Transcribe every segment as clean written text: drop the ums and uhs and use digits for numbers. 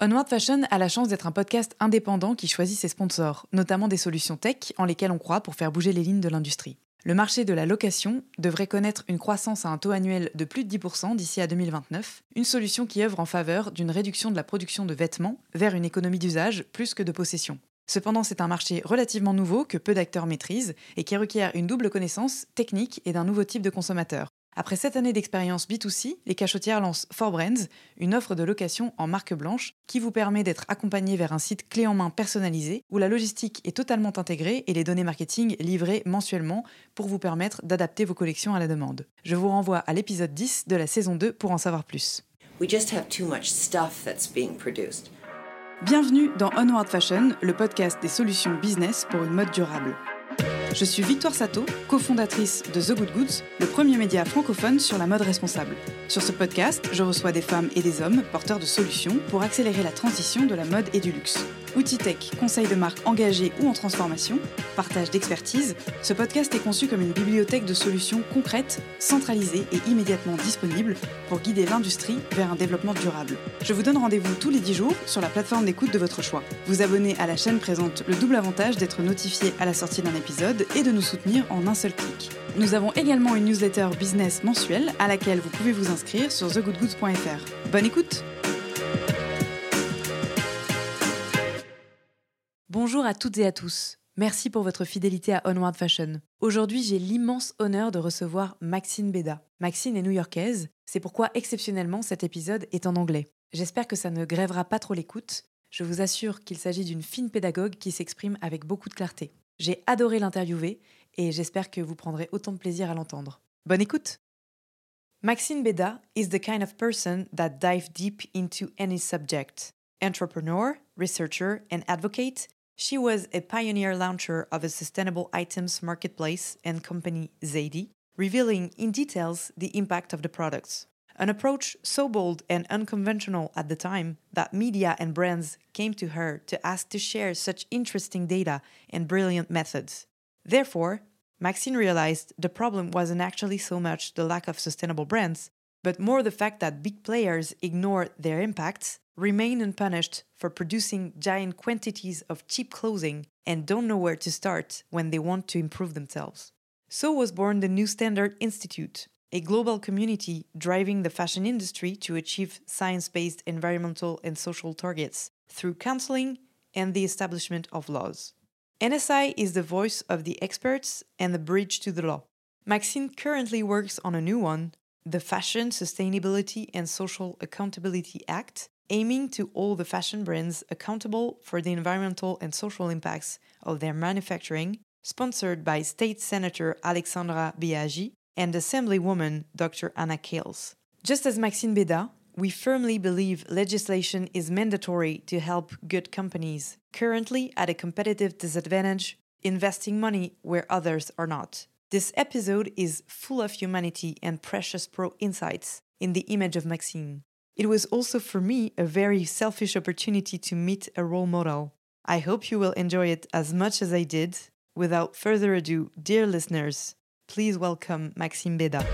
Onward Fashion a la chance d'être un podcast indépendant qui choisit ses sponsors, notamment des solutions tech en lesquelles on croit pour faire bouger les lignes de l'industrie. Le marché de la location devrait connaître une croissance à un taux annuel de plus de 10% d'ici à 2029, une solution qui œuvre en faveur d'une réduction de la production de vêtements vers une économie d'usage plus que de possession. Cependant, c'est un marché relativement nouveau que peu d'acteurs maîtrisent et qui requiert une double connaissance technique et d'un nouveau type de consommateur. Après 7 années d'expérience B2C, les cachotières lancent 4Brands, une offre de location en marque blanche qui vous permet d'être accompagné vers un site clé en main personnalisé où la logistique est totalement intégrée et les données marketing livrées mensuellement pour vous permettre d'adapter vos collections à la demande. Je vous renvoie à l'épisode 10 de la saison 2 pour en savoir plus. We just have too much stuff that's being produced. Bienvenue dans Onward Fashion, le podcast des solutions business pour une mode durable. Je suis Victoire Sato, cofondatrice de The Good Goods, le premier média francophone sur la mode responsable. Sur ce podcast, je reçois des femmes et des hommes porteurs de solutions pour accélérer la transition de la mode et du luxe. Outils tech, conseils de marques engagées ou en transformation, partage d'expertise, ce podcast est conçu comme une bibliothèque de solutions concrètes, centralisées et immédiatement disponibles pour guider l'industrie vers un développement durable. Je vous donne rendez-vous tous les 10 jours sur la plateforme d'écoute de votre choix. Vous abonner à la chaîne présente le double avantage d'être notifié à la sortie d'un épisode et de nous soutenir en un seul clic. Nous avons également une newsletter business mensuelle à laquelle vous pouvez vous inscrire sur thegoodgoods.fr. Bonne écoute! Bonjour à toutes et à tous. Merci pour votre fidélité à Onward Fashion. Aujourd'hui, j'ai l'immense honneur de recevoir Maxine Beda. Maxine est new-yorkaise, c'est pourquoi exceptionnellement cet épisode est en anglais. J'espère que ça ne grèvera pas trop l'écoute. Je vous assure qu'il s'agit d'une fine pédagogue qui s'exprime avec beaucoup de clarté. J'ai adoré l'interviewer et j'espère que vous prendrez autant de plaisir à l'entendre. Bonne écoute! Maxine Beda is the kind of person that dives deep into any subject. Entrepreneur, researcher, and advocate, she was a pioneer launcher of a sustainable items marketplace and company Zadie, revealing in details the impact of the products. An approach so bold and unconventional at the time that media and brands came to her to ask to share such interesting data and brilliant methods. Therefore, Maxine realized the problem wasn't actually so much the lack of sustainable brands, but more the fact that big players ignore their impacts, remain unpunished for producing giant quantities of cheap clothing, and don't know where to start when they want to improve themselves. So was born the New Standard Institute, a global community driving the fashion industry to achieve science-based environmental and social targets through counseling and the establishment of laws. NSI is the voice of the experts and the bridge to the law. Maxine currently works on a new one, the Fashion Sustainability and Social Accountability Act, aiming to hold the fashion brands accountable for the environmental and social impacts of their manufacturing, sponsored by State Senator Alexandra Biaggi and Assemblywoman Dr. Anna Kales. Just as Maxine Beda, we firmly believe legislation is mandatory to help good companies, currently at a competitive disadvantage, investing money where others are not. This episode is full of humanity and precious pro insights in the image of Maxine. It was also for me a very selfish opportunity to meet a role model. I hope you will enjoy it as much as I did. Without further ado, dear listeners, please welcome Maxine Beda.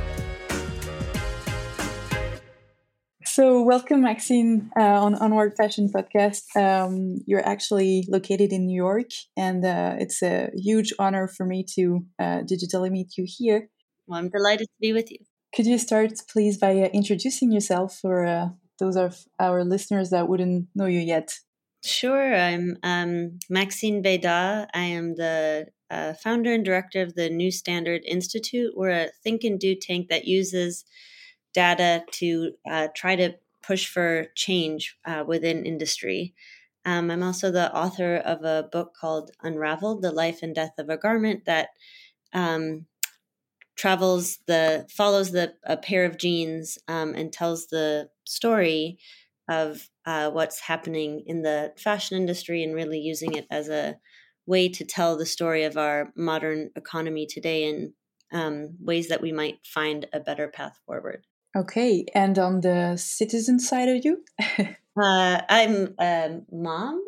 So, welcome, Maxine, on Onward Fashion Podcast. You're actually located in New York, and it's a huge honor for me to digitally meet you here. Well, I'm delighted to be with you. Could you start, please, by introducing yourself for those of our listeners that wouldn't know you yet? Sure. I'm Maxine Beda. I am the founder and director of the New Standard Institute. We're a think and do tank that uses data to try to push for change within industry. I'm also the author of a book called Unraveled, The Life and Death of a Garment that follows a pair of jeans and tells the story of what's happening in the fashion industry and really using it as a way to tell the story of our modern economy today and ways that we might find a better path forward. Okay, and on the citizen side of you? I'm a mom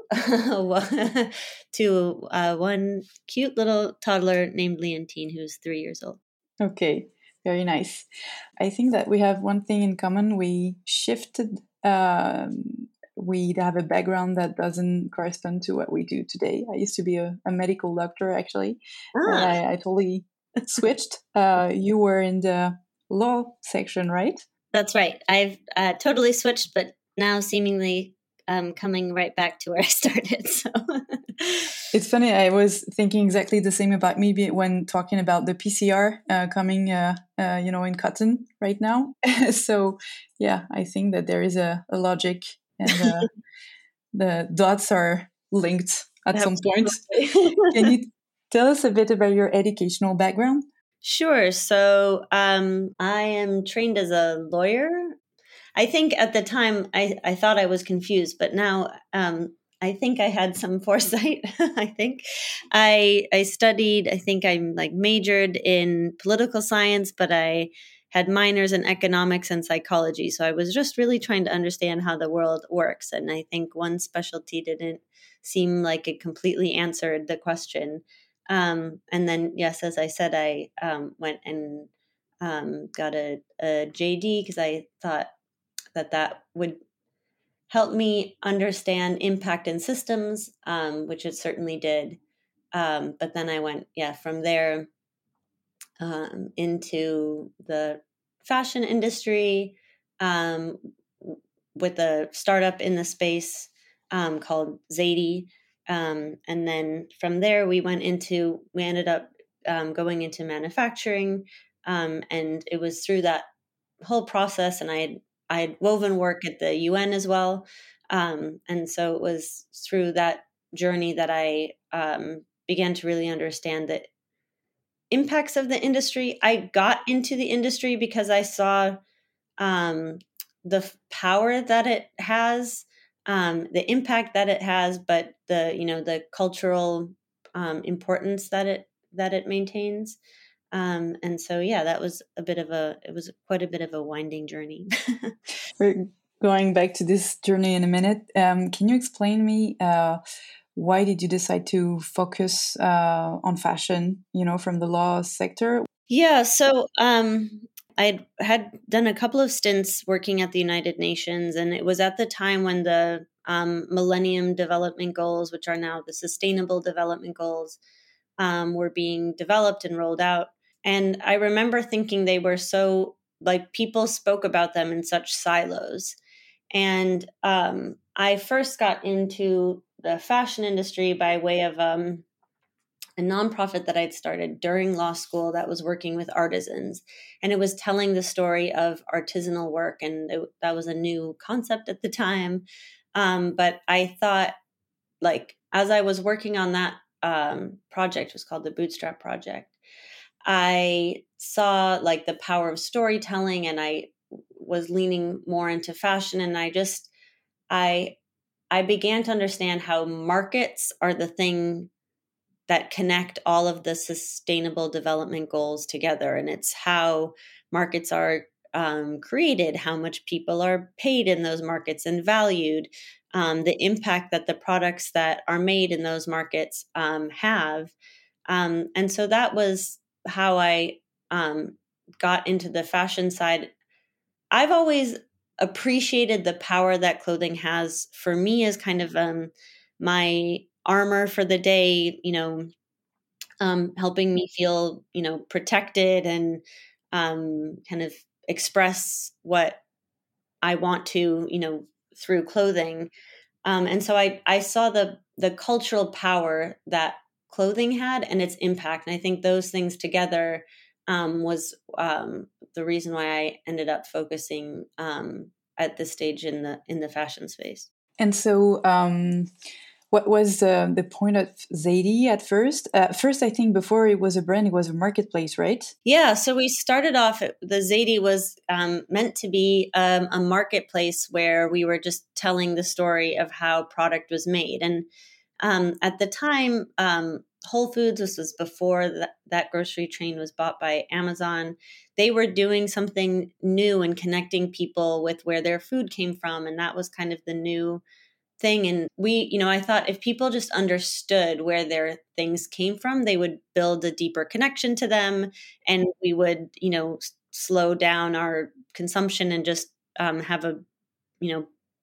to one cute little toddler named Leontine, who's 3 years old. Okay, very nice. I think that we have one thing in common. We shifted we have a background that doesn't correspond to what we do today. I used to be a medical doctor, actually. And I totally switched. You were in the law section, right? That's right. I've totally switched, but now seemingly coming right back to where I started. So it's funny. I was thinking exactly the same about me when talking about the PCR coming, in cotton right now. So, yeah, I think that there is a logic, and the dots are linked at some point. Can you tell us a bit about your educational background? Sure. So I am trained as a lawyer. I think at the time I thought I was confused, but now I think I had some foresight. I think I studied, I think I majored in political science, but I had minors in economics and psychology. So I was just really trying to understand how the world works. And I think one specialty didn't seem like it completely answered the question. And then, yes, as I said, I went and got a JD because I thought that would help me understand impact in systems, which it certainly did. But then I went, from there into the fashion industry with a startup in the space called Zadie. And then from there, we ended up going into manufacturing. And it was through that whole process, and I had woven work at the UN as well. And so it was through that journey that I began to really understand the impacts of the industry. I got into the industry because I saw the power that it has, the impact that it has, but the cultural importance that it maintains. And so, that was quite a bit of a winding journey. We're going back to this journey in a minute. Can you explain me why did you decide to focus on fashion, from the law sector? Yeah, so I had done a couple of stints working at the United Nations, and it was at the time when the Millennium Development Goals, which are now the Sustainable Development Goals, were being developed and rolled out. And I remember thinking they were so, people spoke about them in such silos. And I first got into the fashion industry by way of a nonprofit that I'd started during law school that was working with artisans. And it was telling the story of artisanal work. And that was a new concept at the time. But I thought, as I was working on that project, it was called the Bootstrap Project, I saw the power of storytelling, and I was leaning more into fashion. And I began to understand how markets are the thing that connect all of the sustainable development goals together. And it's how markets are created, how much people are paid in those markets and valued, the impact that the products that are made in those markets have. And so that was how I got into the fashion side. I've always appreciated the power that clothing has for me as kind of my armor for the day, helping me feel, protected and kind of express what I want to, through clothing. And so I saw the cultural power that clothing had and its impact. And I think those things together was the reason why I ended up focusing at this stage in the fashion space. And so, what was the point of Zadie at first? First, I think before it was a brand, it was a marketplace, right? Yeah. So we started off, the Zadie was meant to be a marketplace where we were just telling the story of how product was made. And at the time, Whole Foods, this was before that grocery chain was bought by Amazon. They were doing something new and connecting people with where their food came from. And that was kind of the new thing. And I thought if people just understood where their things came from, they would build a deeper connection to them, and we would, slow down our consumption and just have a,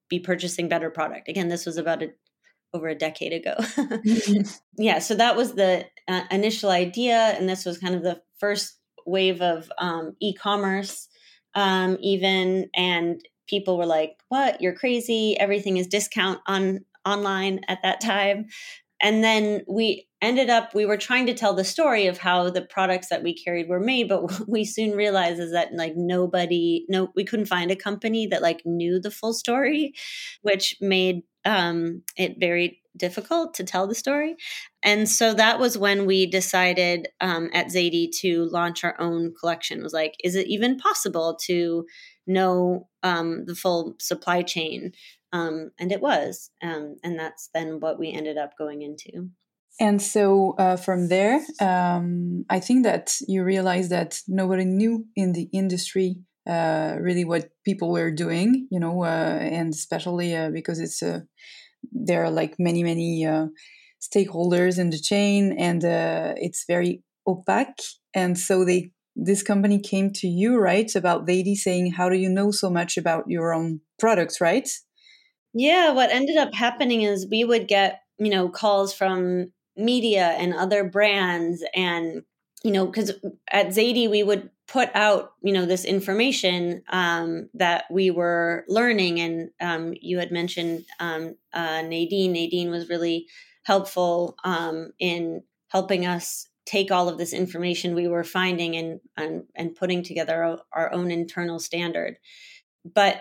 be purchasing better product. Again, this was about over a decade ago. Yeah, so that was the initial idea, and this was kind of the first wave of e-commerce, even, and people were like, "What? You're crazy! Everything is discount online at that time." And then we were trying to tell the story of how the products that we carried were made, but what we soon realized is that like we couldn't find a company that like knew the full story, which made it very difficult to tell the story. And so that was when we decided at Zadie to launch our own collection. It was like, is it even possible to know the full supply chain? And it was. And that's then what we ended up going into. And so from there, I think that you realized that nobody knew in the industry really what people were doing, and especially because there are like many stakeholders in the chain, and it's very opaque. And so this company came to you, right, about Zadie, saying, how do you know so much about your own products, right? Yeah, what ended up happening is we would get, calls from media and other brands, and, because at Zadie, we would put out, this information that we were learning. And you had mentioned Nadine. Nadine was really helpful in helping us take all of this information we were finding and putting together our own internal standard. But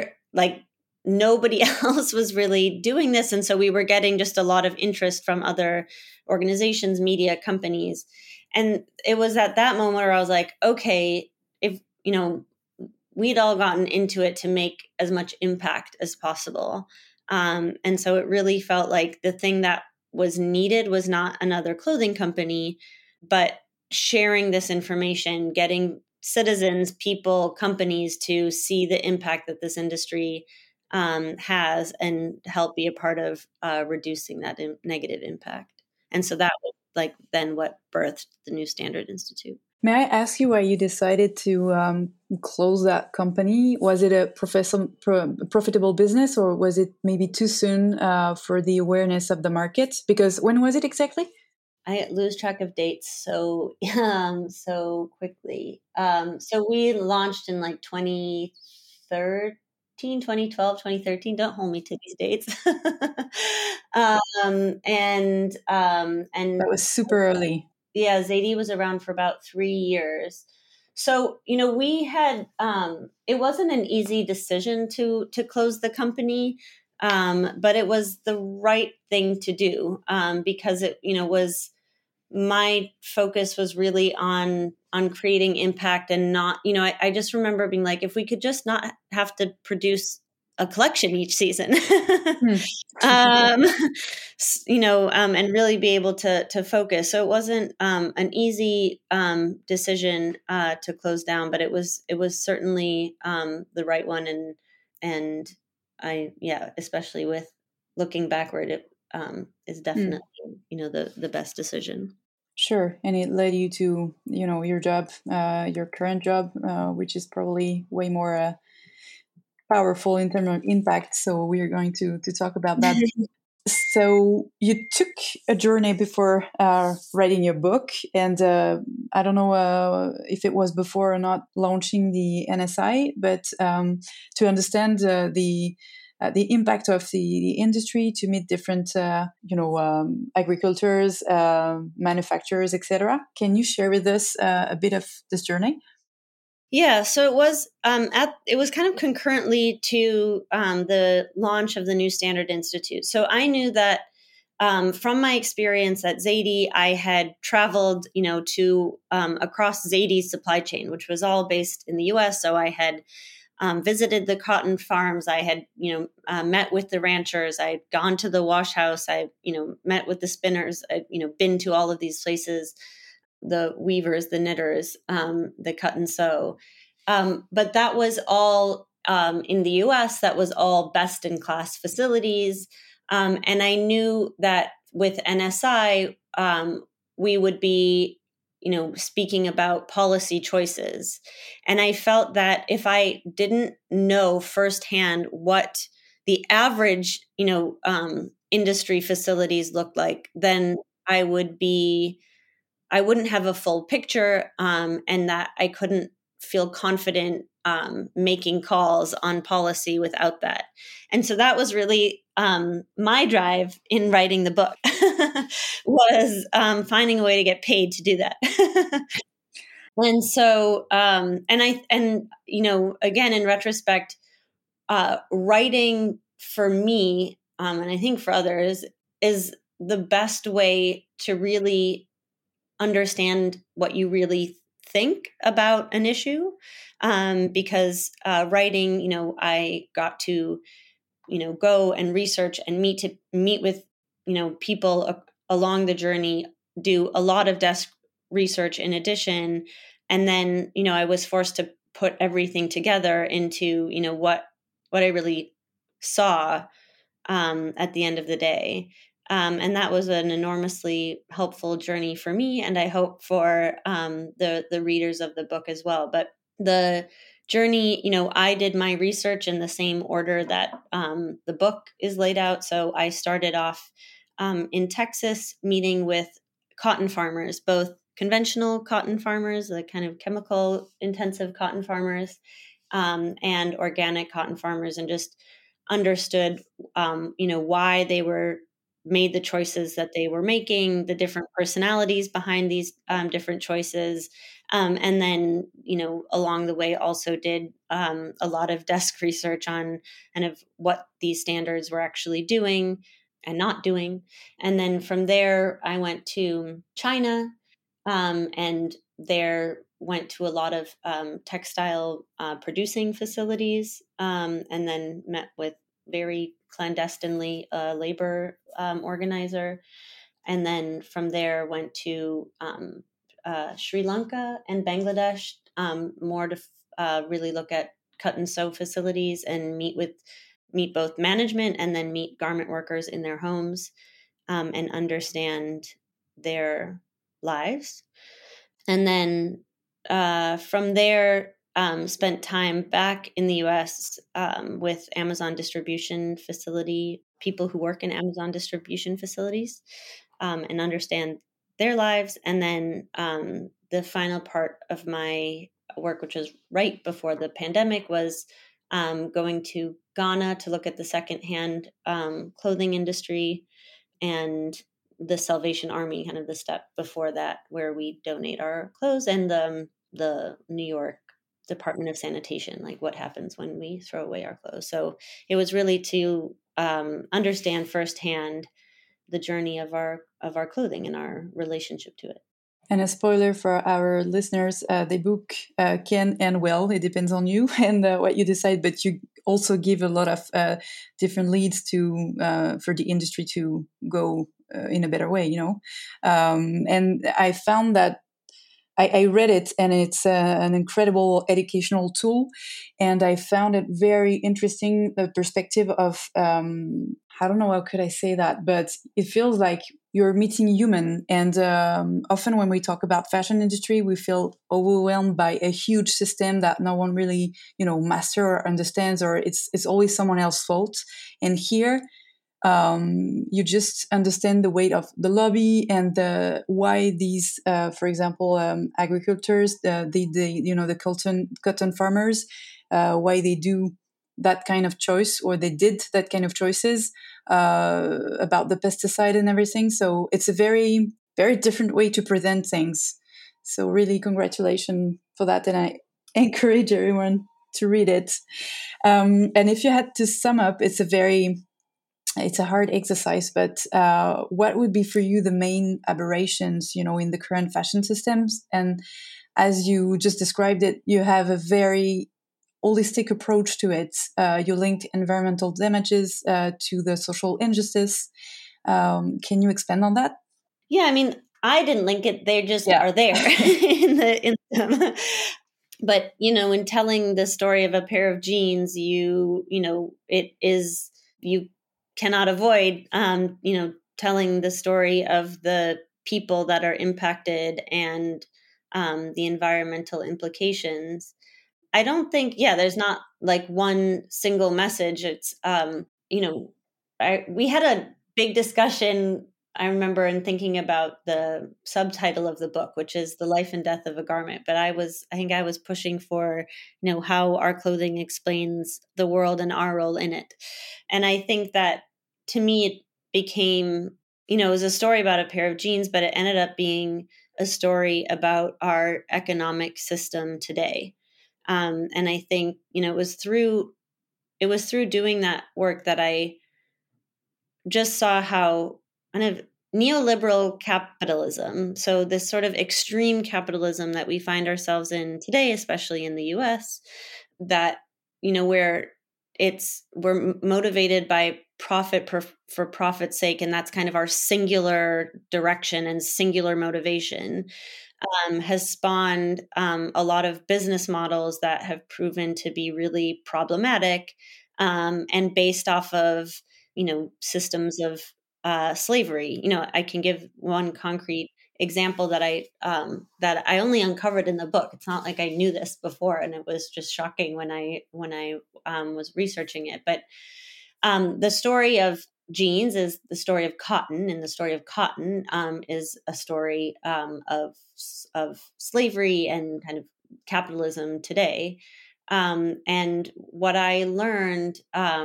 nobody else was really doing this. And so we were getting just a lot of interest from other organizations, media companies. And it was at that moment where I was like, okay, if, we'd all gotten into it to make as much impact as possible. And so it really felt like the thing that was needed was not another clothing company, but sharing this information, getting citizens, people, companies to see the impact that this industry has and help be a part of reducing that negative impact. And so that was like then what birthed the New Standard Institute. May I ask you why you decided to close that company? Was it a profitable business, or was it maybe too soon for the awareness of the market? Because when was it exactly? I lose track of dates so quickly. So we launched in like 2013, 2012, 2013. Don't hold me to these dates. And that was super early. Yeah, Zadie was around for about 3 years. So, we had, it wasn't an easy decision to close the company, but it was the right thing to do because it, was my focus was really on creating impact and not, I just remember being like, if we could just not have to produce a collection each season, and really be able to focus. So it wasn't an easy decision to close down, but it was certainly the right one. And especially with looking backward, it is definitely, the best decision. Sure. And it led you to, your job, your current job, which is probably way more powerful in terms of impact. So we are going to talk about that. So you took a journey before writing your book, and I don't know if it was before or not launching the NSI, but to understand the impact of the industry, to meet different agricultures, manufacturers, etc. Can you share with us a bit of this journey? Yeah, so it was it was kind of concurrently to the launch of the New Standard Institute. So I knew that from my experience at Zadie, I had traveled, to across Zadie's supply chain, which was all based in the U.S. So I had visited the cotton farms. I had, met with the ranchers. I'd gone to the wash house. I, met with the spinners. I'd, been to all of these places. The weavers, the knitters, the cut and sew. But that was all in the US, that was all best in class facilities. And I knew that with NSI, we would be, speaking about policy choices. And I felt that if I didn't know firsthand what the average, industry facilities look like, then I wouldn't have a full picture, and that I couldn't feel confident making calls on policy without that. And so that was really my drive in writing the book was finding a way to get paid to do that. And so, again, in retrospect, writing for me, and I think for others, is the best way to really understand what you really think about an issue. Because writing, I got to, go and research and meet with, people along the journey, do a lot of desk research in addition. And then, I was forced to put everything together into, what I really saw at the end of the day. And that was an enormously helpful journey for me, and I hope for the readers of the book as well. But the journey, I did my research in the same order that the book is laid out. So I started off in Texas, meeting with cotton farmers, both conventional cotton farmers, the kind of chemical intensive cotton farmers, and organic cotton farmers, and just understood, why they were made the choices that they were making, the different personalities behind these different choices. And then, along the way also did a lot of desk research on kind of what these standards were actually doing and not doing. And then from there, I went to China, and there went to a lot of textile producing facilities, and then met with very clandestinely a labor organizer. And then from there went to Sri Lanka and Bangladesh, more to really look at cut and sew facilities and meet both management and then meet garment workers in their homes, and understand their lives. And then from there, spent time back in the US with Amazon distribution facility, people who work in Amazon distribution facilities, and understand their lives. And then the final part of my work, which was right before the pandemic, was going to Ghana to look at the secondhand clothing industry, and the Salvation Army, kind of the step before that, where we donate our clothes, and the New York Department of Sanitation, like what happens when we throw away our clothes. So it was really to understand firsthand the journey of our clothing and our relationship to it. And a spoiler for our listeners, the book can end well. It depends on you and what you decide, but you also give a lot of different leads to for the industry to go in a better way, and I found that I read it, and it's an incredible educational tool. And I found it very interesting, the perspective of, I don't know how could I say that, but it feels like you're meeting human. And often when we talk about fashion industry, we feel overwhelmed by a huge system that no one really, master or understands, or it's always someone else's fault. And here, you just understand the weight of the lobby and why these, for example, agricultures, the cotton farmers, why they do that kind of choice, or they did that kind of choices about the pesticide and everything. So it's a very, very different way to present things. So really, congratulations for that, and I encourage everyone to read it. And if you had to sum up, it's a hard exercise, but what would be for you the main aberrations, in the current fashion systems? And as you just described it, you have a very holistic approach to it. You linked environmental damages to the social injustice. Can you expand on that? Yeah, I mean, I didn't link it; they just are there in them. But in telling the story of a pair of jeans, you cannot avoid, telling the story of the people that are impacted and the environmental implications. I don't think, there's not like one single message. It's we had a big discussion, I remember, in thinking about the subtitle of the book, which is The Life and Death of a Garment. But I think I was pushing for, how our clothing explains the world and our role in it. And I think that, to me, it became, it was a story about a pair of jeans, but it ended up being a story about our economic system today. And I think, it was through doing that work that I just saw how kind of neoliberal capitalism, so this sort of extreme capitalism that we find ourselves in today, especially in the US, that, where we're motivated by profit for profit's sake, and that's kind of our singular direction and singular motivation, has spawned a lot of business models that have proven to be really problematic, and based off of systems of slavery. I can give one concrete example that I only uncovered in the book. It's not like I knew this before, and it was just shocking when I was researching it. But the story of jeans is the story of cotton, and the story of cotton is a story of slavery and kind of capitalism today. And what I learned,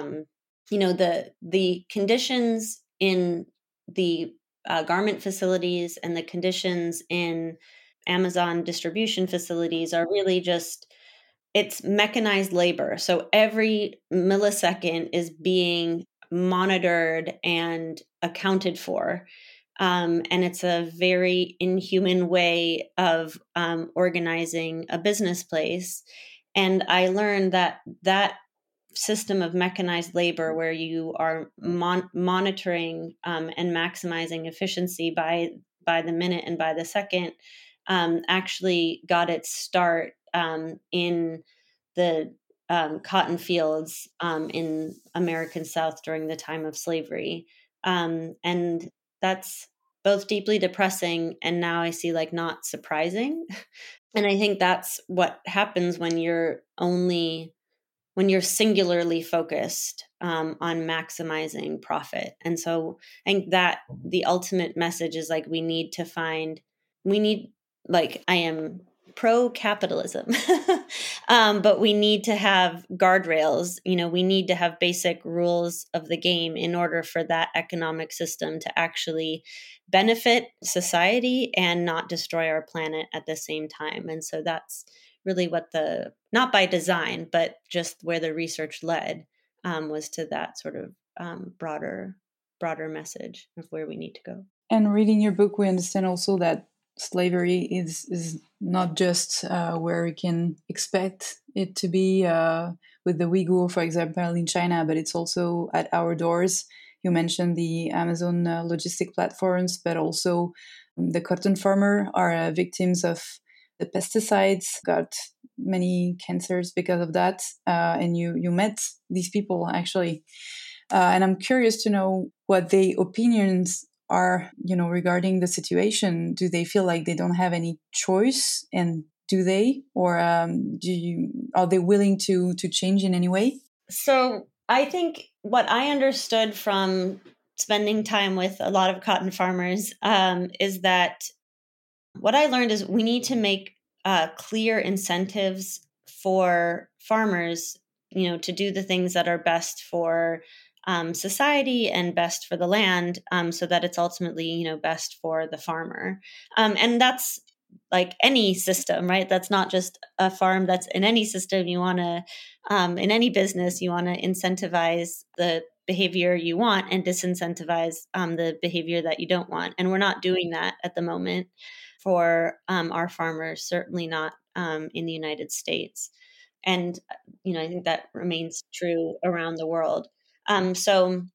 the conditions in the garment facilities and the conditions in Amazon distribution facilities are really just, it's mechanized labor. So every millisecond is being monitored and accounted for. And it's a very inhuman way of organizing a business place. And I learned that system of mechanized labor, where you are monitoring and maximizing efficiency by the minute and by the second, actually got its start in the cotton fields in American South during the time of slavery. And that's both deeply depressing and now I see like not surprising. And I think that's what happens when you're singularly focused on maximizing profit. And so I think that the ultimate message is like, I am pro-capitalism, but we need to have guardrails. We need to have basic rules of the game in order for that economic system to actually benefit society and not destroy our planet at the same time. And so that's really what not by design, but just where the research led, was to that sort of broader message of where we need to go. And reading your book, we understand also that slavery is not just where we can expect it to be with the Uyghur, for example, in China, but it's also at our doors. You mentioned the Amazon logistic platforms, but also the cotton farmer are victims of the pesticides, got many cancers because of that. And you met these people actually. And I'm curious to know what their opinions are, regarding the situation. Do they feel like they don't have any choice? And do they? Or are they willing to change in any way? So I think what I understood from spending time with a lot of cotton farmers is that what I learned is we need to make clear incentives for farmers, to do the things that are best for society and best for the land, so that it's ultimately, best for the farmer. And that's like any system, right? That's not just a farm. That's in any system. You want to, in any business, you want to incentivize the behavior you want and disincentivize the behavior that you don't want. And we're not doing that at the moment for our farmers, certainly not in the United States. And, I think that remains true around the world. So,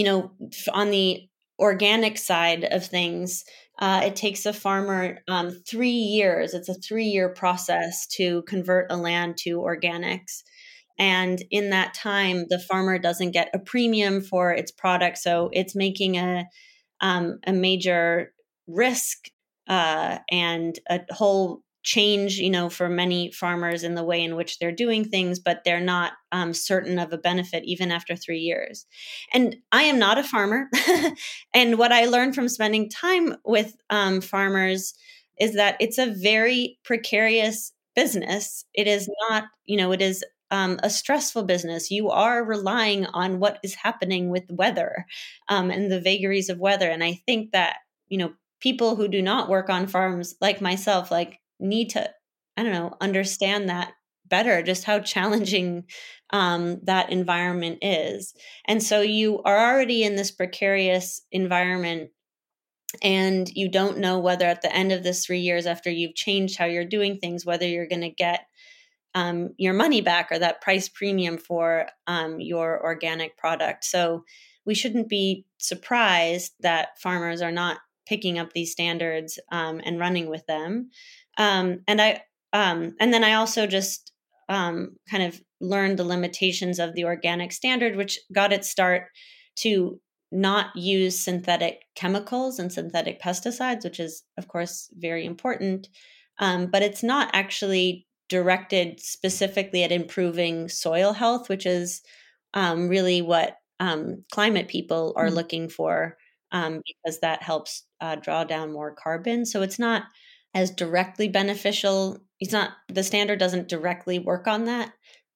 on the organic side of things, it takes a farmer 3 years. It's a 3-year process to convert a land to organics. And in that time, the farmer doesn't get a premium for its product. So it's making a major risk and a whole change, for many farmers in the way in which they're doing things, but they're not certain of a benefit even after 3 years. And I am not a farmer. And what I learned from spending time with farmers is that it's a very precarious business. It is not, it is a stressful business. You are relying on what is happening with weather and the vagaries of weather. And I think that, people who do not work on farms like myself, need to, understand that better, just how challenging that environment is. And so you are already in this precarious environment, and you don't know whether at the end of this 3 years after you've changed how you're doing things, whether you're going to get your money back or that price premium for your organic product. So we shouldn't be surprised that farmers are not picking up these standards and running with them. And then I also just kind of learned the limitations of the organic standard, which got its start to not use synthetic chemicals and synthetic pesticides, which is, of course, very important. But it's not actually directed specifically at improving soil health, which is really what climate people are looking for, because that helps draw down more carbon. So it's not as directly beneficial. The standard doesn't directly work on that.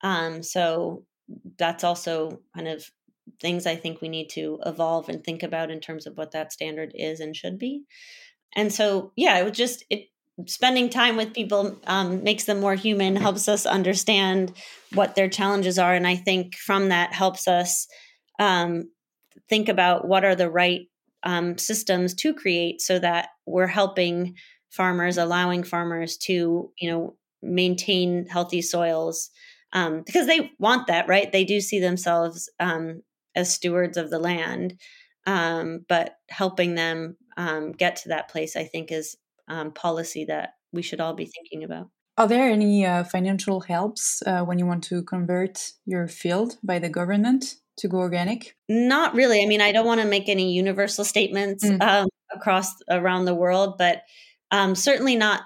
So that's also kind of things I think we need to evolve and think about in terms of what that standard is and should be. And so, yeah, spending time with people makes them more human, helps us understand what their challenges are. And I think from that helps us think about what are the right systems to create so that we're helping farmers, allowing farmers to, maintain healthy soils because they want that, right? They do see themselves as stewards of the land, but helping them get to that place, I think, is policy that we should all be thinking about. Are there any financial helps when you want to convert your field by the government to go organic? Not really. I mean, I don't want to make any universal statements around the world, but certainly not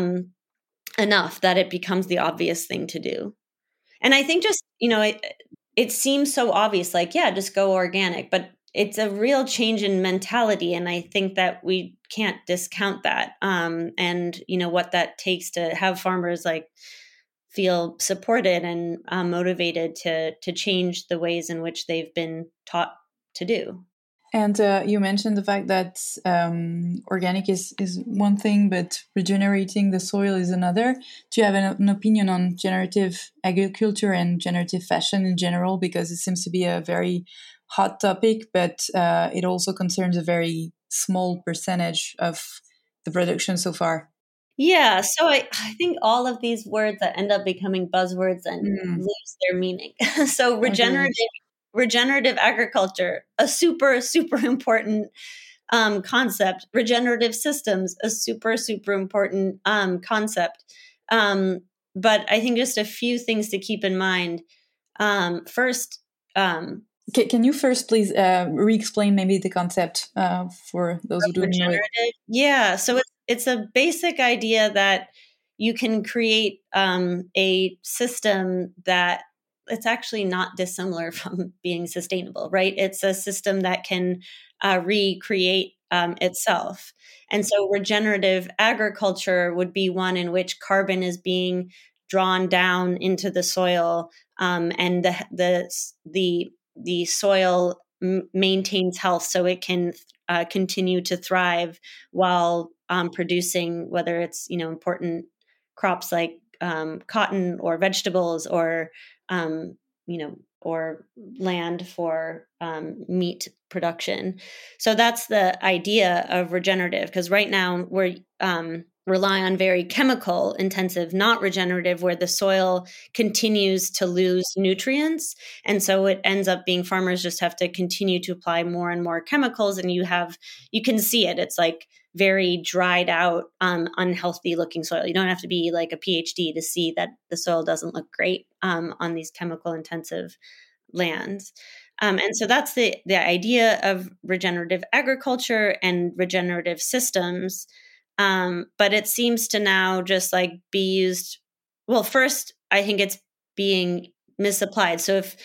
enough that it becomes the obvious thing to do. And I think just, it seems so obvious, just go organic, but it's a real change in mentality. And I think that we can't discount that. And, what that takes to have farmers feel supported and motivated to change the ways in which they've been taught to do. And you mentioned the fact that organic is one thing, but regenerating the soil is another. Do you have an opinion on generative agriculture and generative fashion in general? Because it seems to be a very hot topic, but it also concerns a very small percentage of the production so far. Yeah, so I think all of these words that end up becoming buzzwords and lose their meaning. So regenerative agriculture, a super, super important concept. Regenerative systems, a super, super important concept. But I think just a few things to keep in mind. First, can you first please re-explain maybe the concept for those who don't know it? Yeah, so it's a basic idea that you can create a system that it's actually not dissimilar from being sustainable, right? It's a system that can recreate itself. And so regenerative agriculture would be one in which carbon is being drawn down into the soil, and the soil maintains health so it can continue to thrive while producing, whether it's important crops like cotton or vegetables or or land for meat production. So that's the idea of regenerative, because right now we're rely on very chemical intensive, not regenerative, where the soil continues to lose nutrients. And so it ends up being farmers just have to continue to apply more and more chemicals. And you can see it. It's very dried out, unhealthy looking soil. You don't have to be a PhD to see that the soil doesn't look great on these chemical intensive lands. And so that's the idea of regenerative agriculture and regenerative systems. But it seems to now just like be used. Well, first, I think it's being misapplied. So if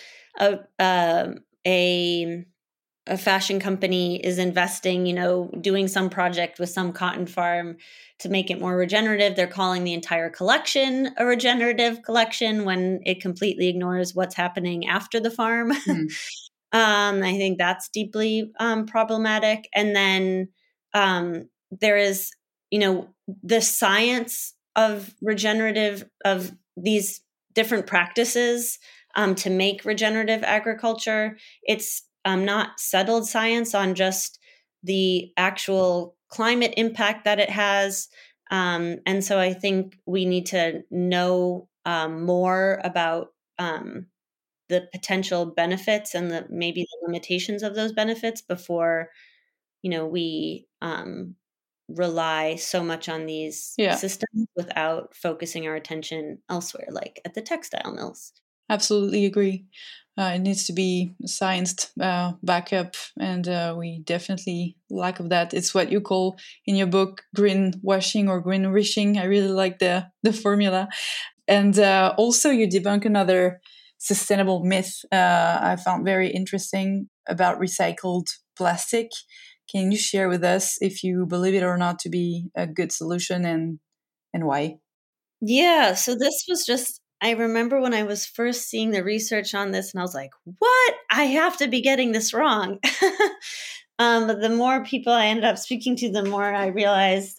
a fashion company is investing, doing some project with some cotton farm to make it more regenerative, they're calling the entire collection a regenerative collection when it completely ignores what's happening after the farm. I think that's deeply problematic. And then there is, the science of regenerative, of these different practices to make regenerative agriculture. It's not settled science on just the actual climate impact that it has. And so I think we need to know more about the potential benefits and maybe the limitations of those benefits before, we rely so much on these systems without focusing our attention elsewhere, like at the textile mills. Absolutely agree. It needs to be science backup, and we definitely lack of that. It's what you call in your book greenwashing or greenwishing. I really like the formula. And also you debunk another sustainable myth I found very interesting about recycled plastic. Can you share with us if you believe it or not to be a good solution and why? Yeah, so this was just, I remember when I was first seeing the research on this and I was like, what? I have to be getting this wrong. But the more people I ended up speaking to, the more I realized,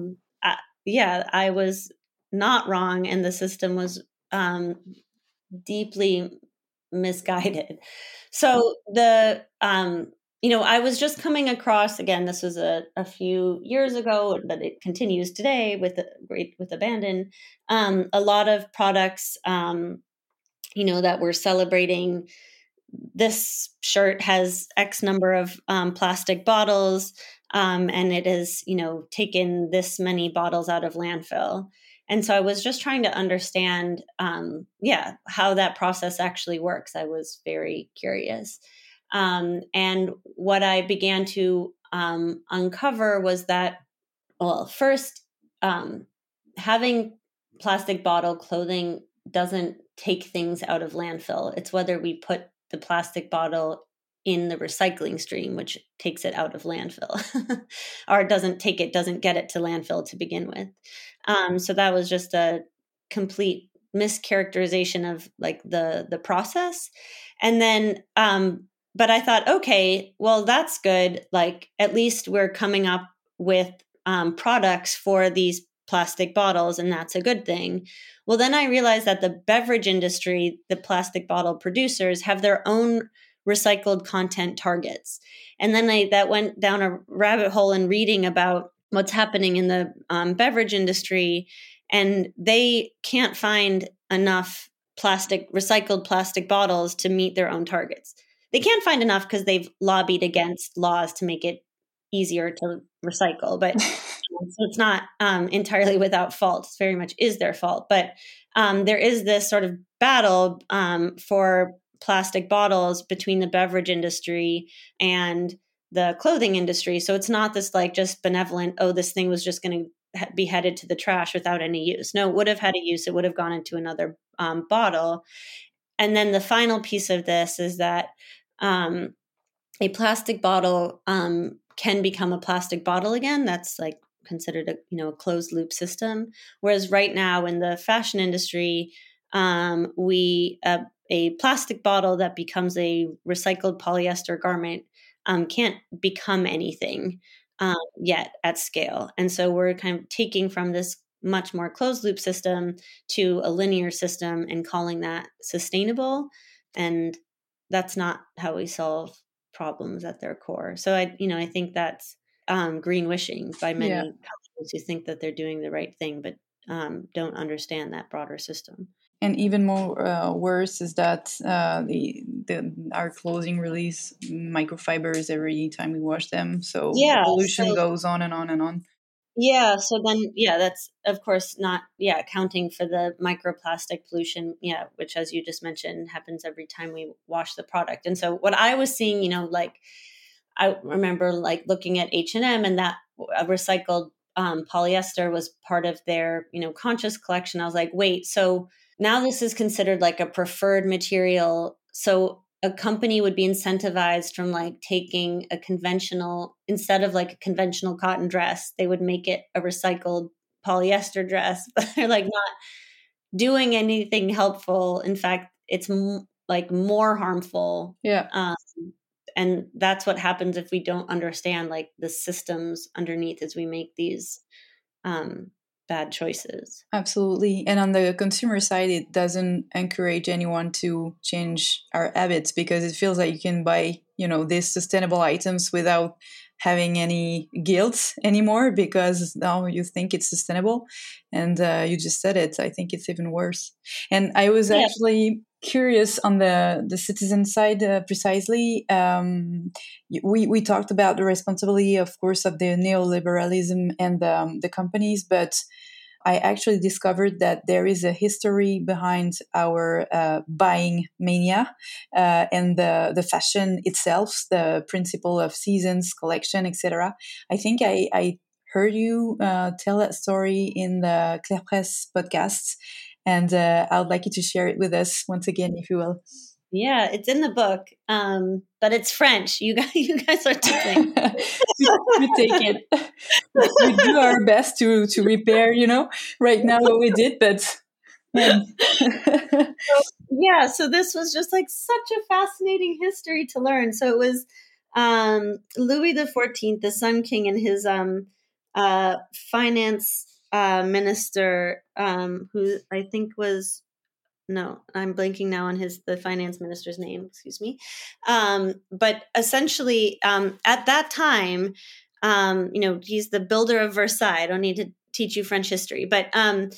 I was not wrong and the system was deeply misguided. So I was just coming across, again, this was a few years ago, but it continues today with abandon. A lot of products, that we're celebrating. This shirt has X number of plastic bottles, and it has, taken this many bottles out of landfill. And so I was just trying to understand, how that process actually works. I was very curious. And what I began to uncover was that, well, first, having plastic bottle clothing doesn't take things out of landfill. It's whether we put the plastic bottle in the recycling stream, which takes it out of landfill, or doesn't get it to landfill to begin with. So that was just a complete mischaracterization of like the process. And then, but I thought, okay, well, that's good. Like, at least we're coming up with products for these plastic bottles, and that's a good thing. Well, then I realized that the beverage industry, the plastic bottle producers, have their own recycled content targets. And then that went down a rabbit hole in reading about what's happening in the beverage industry, and they can't find enough recycled plastic bottles to meet their own targets. They can't find enough because they've lobbied against laws to make it easier to recycle, but so it's not entirely without fault. It very much is their fault. But there is this sort of battle for plastic bottles between the beverage industry and the clothing industry. So it's not this like just benevolent, oh, this thing was just going to be headed to the trash without any use. No, it would have had a use. It would have gone into another bottle. And then the final piece of this is that a plastic bottle can become a plastic bottle again. That's like considered a closed loop system. Whereas right now in the fashion industry, a plastic bottle that becomes a recycled polyester garment can't become anything yet at scale. And so we're kind of taking from this much more closed loop system to a linear system and calling that sustainable. And that's not how we solve problems at their core. So I think that's greenwashing by many companies who think that they're doing the right thing, but don't understand that broader system. And even more worse is that our clothing release microfibers every time we wash them. So pollution goes on and on and on. Yeah. So then, that's of course not, accounting for the microplastic pollution, which, as you just mentioned, happens every time we wash the product. And so what I was seeing, like I remember like looking at H&M and that a recycled polyester was part of their, conscious collection, I was like, wait, so now this is considered like a preferred material. So a company would be incentivized from like taking a conventional, instead of like a conventional cotton dress, they would make it a recycled polyester dress, but they're like not doing anything helpful. In fact, it's like more harmful. Yeah. And that's what happens if we don't understand like the systems underneath as we make these bad choices. Absolutely. And on the consumer side, it doesn't encourage anyone to change our habits, because it feels like you can buy, these sustainable items without having any guilt anymore, because now you think it's sustainable. And you just said it. I think it's even worse. And I was actually curious on the citizen side, precisely. We talked about the responsibility, of course, of the neoliberalism and the companies, but I actually discovered that there is a history behind our buying mania and the fashion itself, the principle of seasons, collection, etc. I think I heard you tell that story in the Claire Presse podcast, and I would like you to share it with us once again, if you will. Yeah, it's in the book, but it's French. You guys are tipping. we take it. We do our best to repair, right now what we did, but yeah. So this was just like such a fascinating history to learn. So it was Louis XIV, the Sun King, and his finance minister, who I think was. No, I'm blanking now on the finance minister's name. Excuse me. But essentially, at that time, he's the builder of Versailles. I don't need to teach you French history, but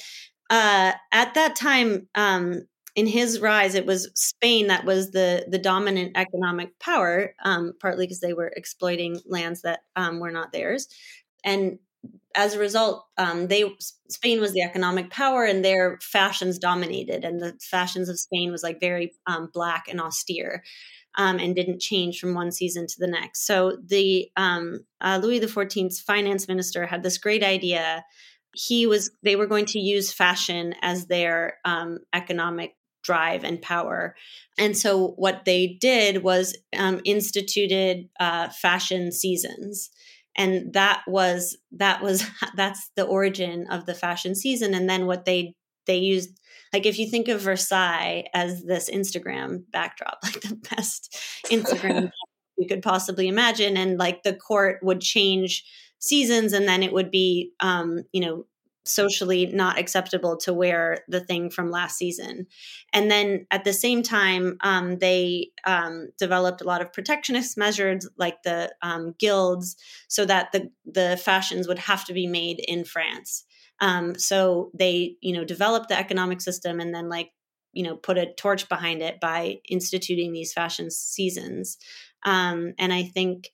at that time, in his rise, it was Spain that was the dominant economic power, partly because they were exploiting lands that were not theirs, and as a result, Spain was the economic power, and their fashions dominated. And the fashions of Spain was like very black and austere, and didn't change from one season to the next. So the Louis XIV's finance minister had this great idea. They were going to use fashion as their economic drive and power. And so what they did was instituted fashion seasons. And that's the origin of the fashion season. And then what they used, like if you think of Versailles as this Instagram backdrop, like the best Instagram you could possibly imagine, and like the court would change seasons, and then it would be, socially not acceptable to wear the thing from last season. And then at the same time, they developed a lot of protectionist measures like the guilds, so that the fashions would have to be made in France. So they, developed the economic system, and then put a torch behind it by instituting these fashion seasons. And I think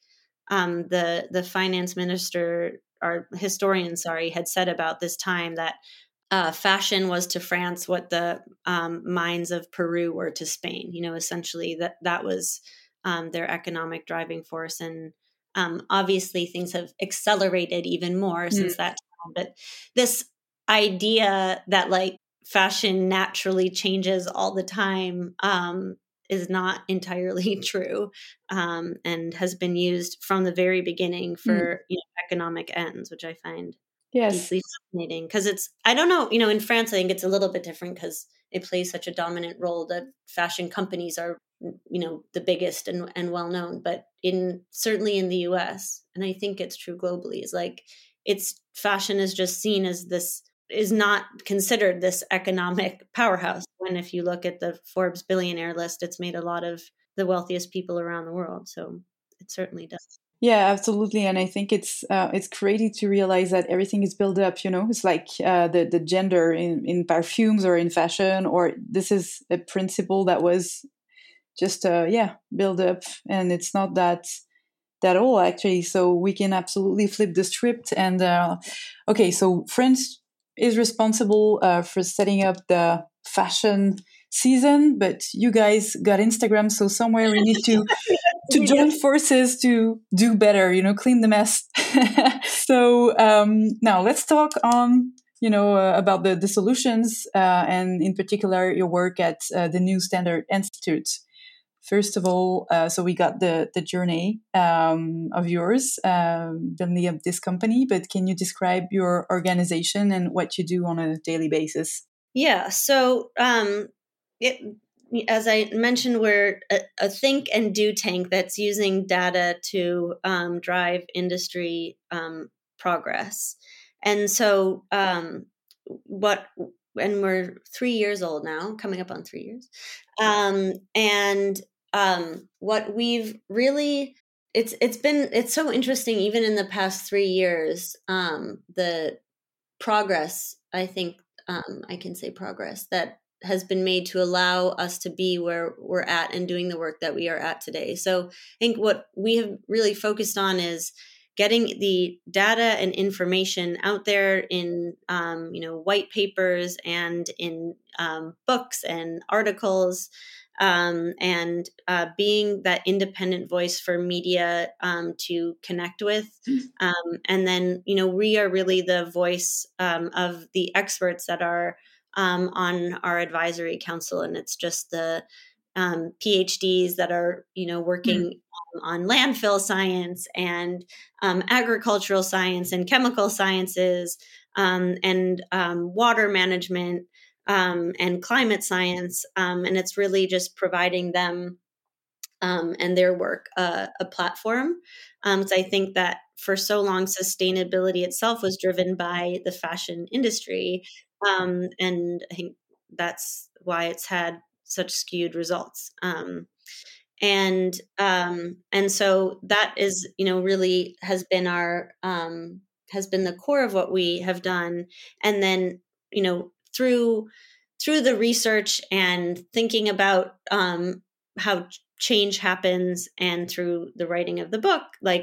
the finance minister, our historian, had said about this time that fashion was to France what the mines of Peru were to Spain. Essentially that was their economic driving force. And obviously things have accelerated even more since that time. But this idea that like fashion naturally changes all the time is not entirely true, and has been used from the very beginning for economic ends, which I find deeply fascinating. Because I don't know, in France, I think it's a little bit different because it plays such a dominant role that fashion companies are, the biggest and well known. But certainly in the US, and I think it's true globally, is like fashion is just seen as this, is not considered this economic powerhouse. When if you look at the Forbes billionaire list, it's made a lot of the wealthiest people around the world. So it certainly does. Yeah, absolutely. And I think it's crazy to realize that everything is built up, It's like the gender in perfumes or in fashion, or this is a principle that was just, built up. And it's not that all, actually. So we can absolutely flip the script. And, okay, so France is responsible for setting up the fashion season, but you guys got Instagram, so somewhere we need to join forces to do better, clean the mess. So now let's talk on, about the solutions and in particular your work at the New Standard Institute. First of all, so we got the journey of yours building up this company, but can you describe your organization and what you do on a daily basis? Yeah. So as I mentioned, we're a think and do tank that's using data to drive industry progress. And so and we're 3 years old now, coming up on 3 years. What we've really, it's so interesting, even in the past 3 years, the progress, I think, I can say progress that has been made to allow us to be where we're at and doing the work that we are at today. So I think what we have really focused on is getting the data and information out there in, white papers and in books and articles, and being that independent voice for media to connect with. And then, we are really the voice of the experts that are on our advisory council. And it's just the PhDs that are, working on landfill science and agricultural science and chemical sciences and water management and climate science. And it's really just providing them and their work a platform. So I think that for so long, sustainability itself was driven by the fashion industry. And I think that's why it's had such skewed results. And so that is, really has been has been the core of what we have done. And then, through the research and thinking about how change happens and through the writing of the book,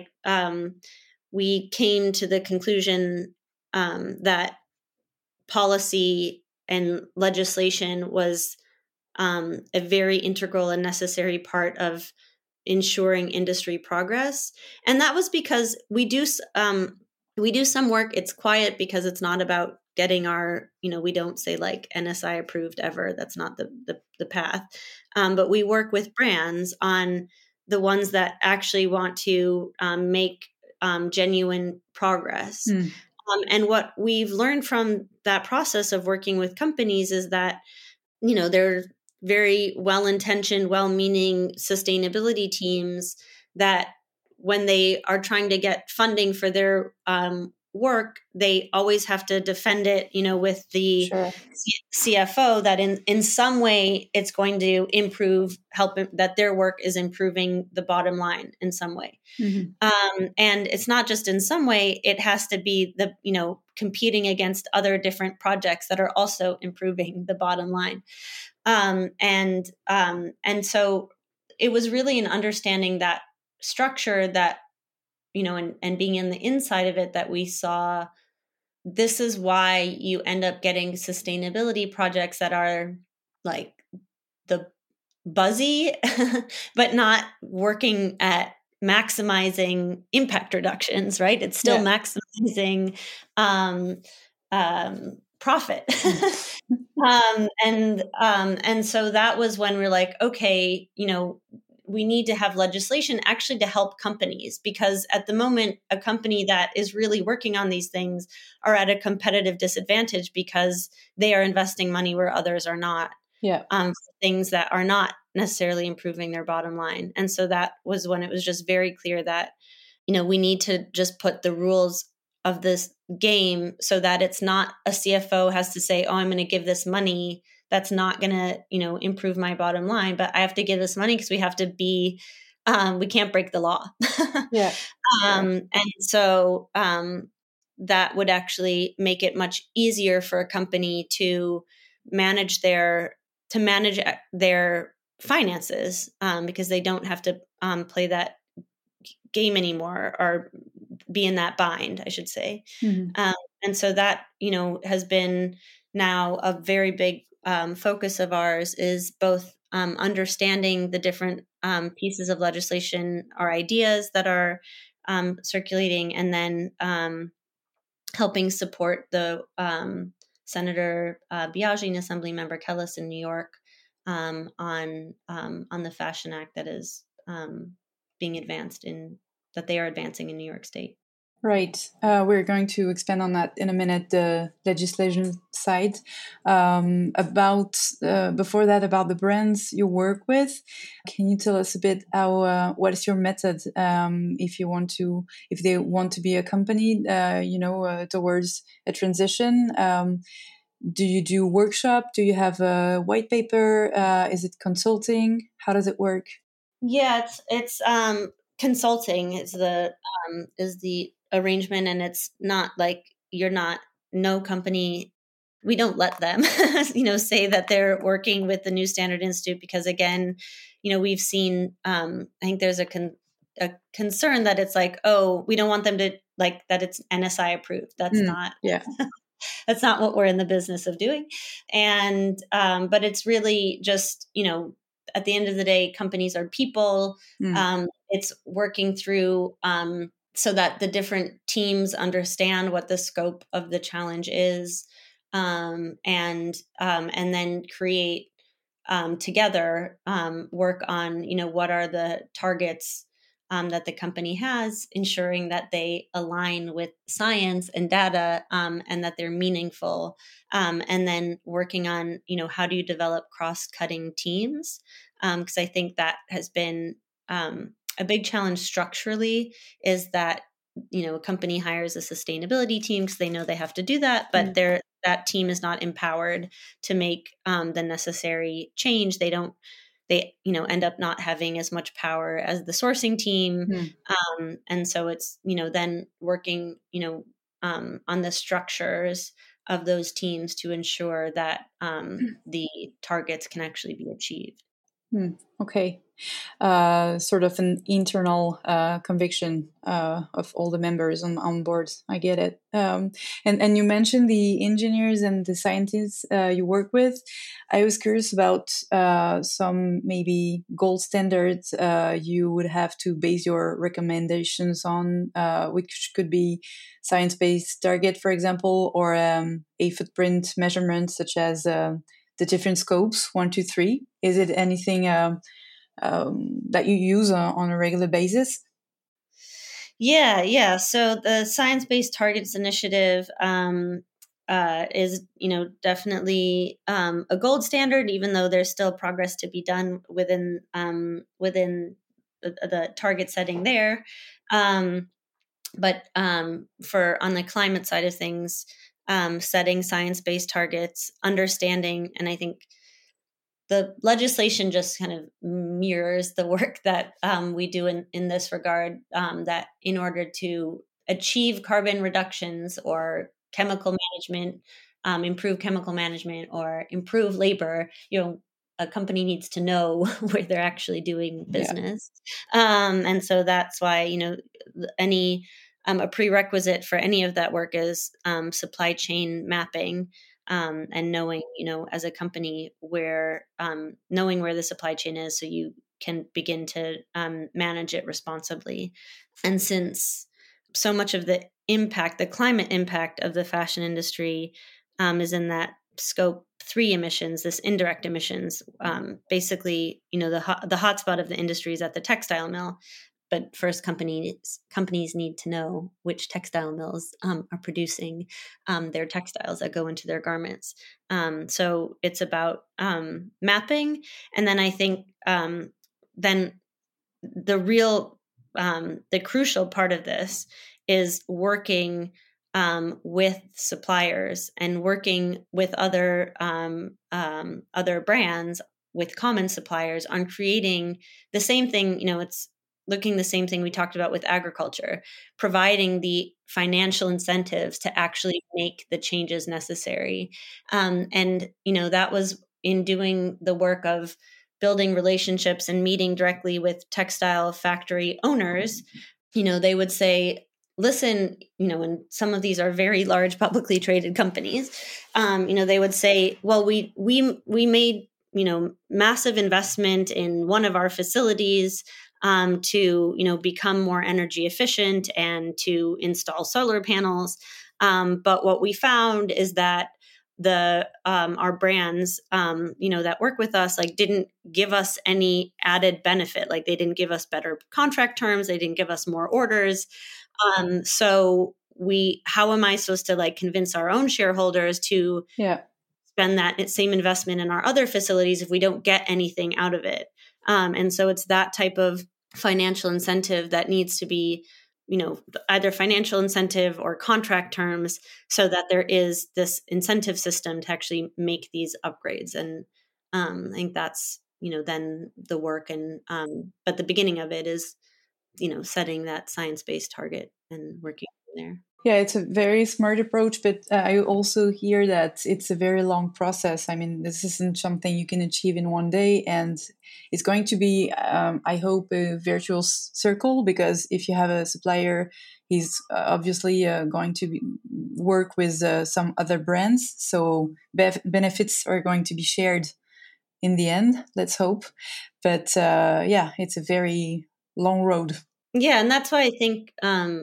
we came to the conclusion that policy and legislation was a very integral and necessary part of ensuring industry progress. And that was because we do some work. It's quiet because it's not about getting our, we don't say like NSI approved ever. That's not the path. But we work with brands on the ones that actually want to make genuine progress. And what we've learned from that process of working with companies is that, they're very well-intentioned, well-meaning sustainability teams that when they are trying to get funding for their work, they always have to defend it, with the CFO that in some way it's going to help that their work is improving the bottom line in some way. And it's not just in some way, it has to be competing against other different projects that are also improving the bottom line. And so it was really an understanding that structure that, and being in the inside of it, that we saw this is why you end up getting sustainability projects that are like the buzzy, but not working at maximizing impact reductions, right? It's still maximizing profit. And so that was when we're like, okay, we need to have legislation actually to help companies, because at the moment, a company that is really working on these things are at a competitive disadvantage because they are investing money where others are not. For things that are not necessarily improving their bottom line. And so that was when it was just very clear that, we need to just put the rules of this game so that it's not a CFO has to say, oh, I'm going to give this money. That's not going to, improve my bottom line, but I have to give this money because we have to be, we can't break the law. And so that would actually make it much easier for a company to manage their finances, because they don't have to play that game anymore, or be in that bind, I should say. And so that, has been now a very big focus of ours, is both understanding the different pieces of legislation or ideas that are circulating, and then helping support the Senator Biaggi and Assemblymember Kellis in New York on the Fashion Act that is being advanced that they are advancing in New York State. Right. We're going to expand on that in a minute, the legislation side. Before that, about the brands you work with, can you tell us a bit what is your method if they want to be accompanied, towards a transition? Do you do workshop? Do you have a white paper? Is it consulting? How does it work? Yeah, it's consulting is the arrangement, and it's not like no company. We don't let them, say that they're working with the New Standard Institute, because again, we've seen. I think there's a concern that it's like, oh, we don't want them to that it's NSI approved. That's not. Yeah. That's not what we're in the business of doing, and but it's really just at the end of the day, companies are people. It's working through so that the different teams understand what the scope of the challenge is, and then create together, work on what are the targets that the company has, ensuring that they align with science and data, and that they're meaningful, and then working on how do you develop cross-cutting teams, because I think that has been a big challenge structurally, is that a company hires a sustainability team because they know they have to do that, but that team is not empowered to make the necessary change. They end up not having as much power as the sourcing team. And so it's, then working, on the structures of those teams to ensure that the targets can actually be achieved. Okay. Sort of an internal conviction of all the members on board. I get it. And you mentioned the engineers and the scientists you work with. I was curious about some maybe gold standards you would have to base your recommendations on, which could be science-based target, for example, or a footprint measurement, such as the different scopes, 1, 2, 3. Is it anything that you use on a regular basis? Yeah. So the Science-Based Targets Initiative is, definitely a gold standard, even though there's still progress to be done within the target setting there. But for on the climate side of things, setting science-based targets, understanding, and I think the legislation just kind of mirrors the work that we do in this regard, that in order to achieve carbon reductions or chemical management, improve chemical management or improve labor, a company needs to know where they're actually doing business. And so that's why, a prerequisite for any of that work is supply chain mapping. And knowing, as a company knowing where the supply chain is, so you can begin to manage it responsibly. And since so much of the climate impact of the fashion industry is in that scope 3 emissions, this indirect emissions, basically, the hotspot of the industry is at the textile mill. But first, companies need to know which textile mills are producing their textiles that go into their garments. So it's about mapping, and then I think then the crucial part of this is working with suppliers and working with other brands, with common suppliers, on creating the same thing. It's looking the same thing we talked about with agriculture, providing the financial incentives to actually make the changes necessary. And that was in doing the work of building relationships and meeting directly with textile factory owners. They would say, listen, and some of these are very large publicly traded companies, they would say, well, we made massive investment in one of our facilities, to, become more energy efficient and to install solar panels. But what we found is that our brands, that work with us, like didn't give us any added benefit. Like they didn't give us better contract terms. They didn't give us more orders. So how am I supposed to like convince our own shareholders to spend that same investment in our other facilities if we don't get anything out of it? And so it's that type of financial incentive that needs to be, either financial incentive or contract terms, so that there is this incentive system to actually make these upgrades. And I think that's, then the work. And but the beginning of it is, setting that science-based target and working from there. Yeah, it's a very smart approach, but I also hear that it's a very long process. I mean, this isn't something you can achieve in one day, and it's going to be, I hope, a virtuous circle, because if you have a supplier, he's obviously going to work with some other brands, so benefits are going to be shared in the end, let's hope. But it's a very long road. Yeah, and that's why I think,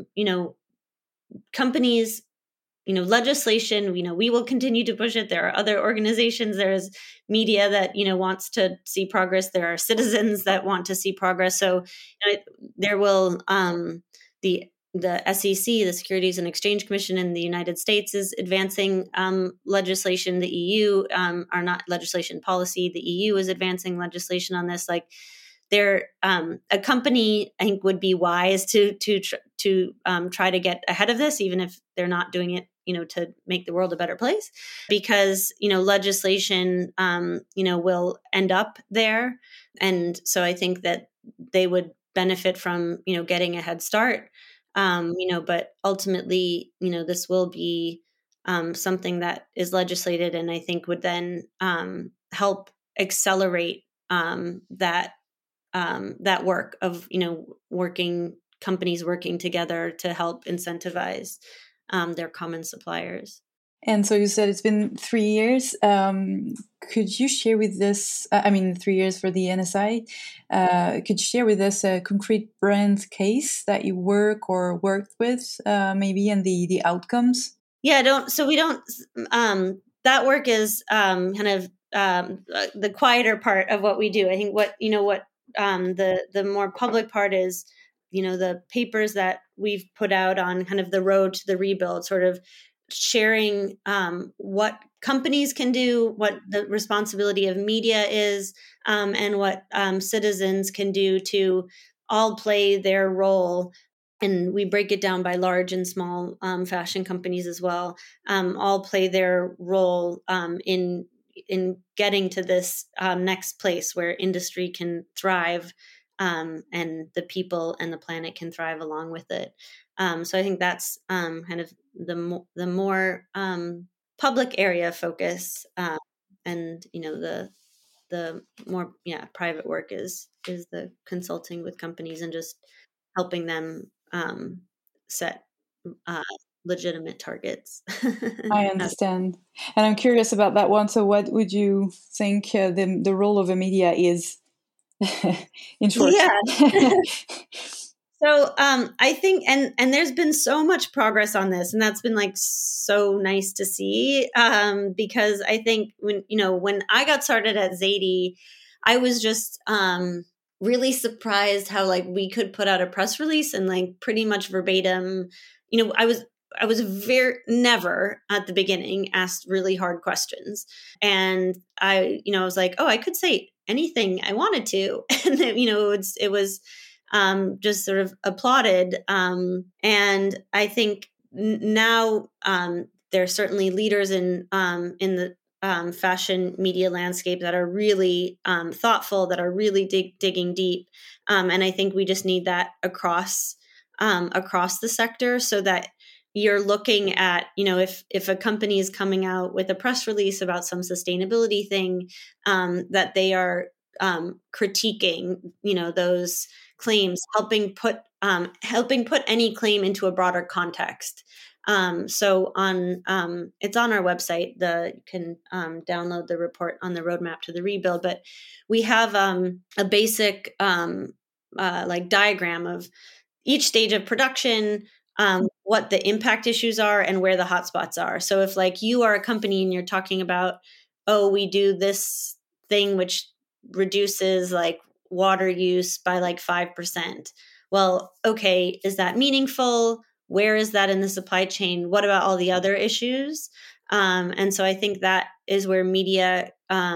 companies, legislation, we will continue to push it. There are other organizations. There's media that, wants to see progress. There are citizens that want to see progress. So there will, the SEC, the Securities and Exchange Commission in the United States, is advancing legislation. The EU are not legislation policy. The EU is advancing legislation on this. Like, a company, I think, would be wise to try to get ahead of this, even if they're not doing it, to make the world a better place, because, legislation, will end up there. And so I think that they would benefit from, getting a head start. But ultimately, this will be something that is legislated, and I think would then help accelerate that work of, companies working together to help incentivize their common suppliers. And so you said it's been 3 years. Could you share with us, 3 years for the NSI, could you share with us a concrete brand case that you worked with, maybe, and the outcomes? Yeah, that work is kind of the quieter part of what we do. I think the more public part is, the papers that we've put out on kind of the road to the rebuild, sort of sharing what companies can do, what the responsibility of media is, and what citizens can do to all play their role. And we break it down by large and small fashion companies as well, all play their role in getting to this next place where industry can thrive, and the people and the planet can thrive along with it. So I think that's kind of the more public area focus, and the more private work is the consulting with companies and just helping them set legitimate targets. I understand. And I'm curious about that one. So what would you think the role of a media is, in short? Yeah. So I think, and there's been so much progress on this, and that's been like so nice to see, because I think when I got started at Zadie, I was just really surprised how like we could put out a press release and like pretty much verbatim, I was never at the beginning asked really hard questions. And I was like, oh, I could say anything I wanted to. And it was just sort of applauded. And I think now there are certainly leaders in the fashion media landscape that are really thoughtful, that are really digging deep. And I think we just need that across the sector, so that you're looking at, if a company is coming out with a press release about some sustainability thing, that they are critiquing, those claims, helping put any claim into a broader context. So it's on our website. You can download the report on the roadmap to the rebuild. But we have a basic like diagram of each stage of production, what the impact issues are and where the hotspots are. So if like you are a company and you're talking about, oh, we do this thing which reduces like water use by like 5%. Well, okay, is that meaningful? Where is that in the supply chain? What about all the other issues? And so I think that is where media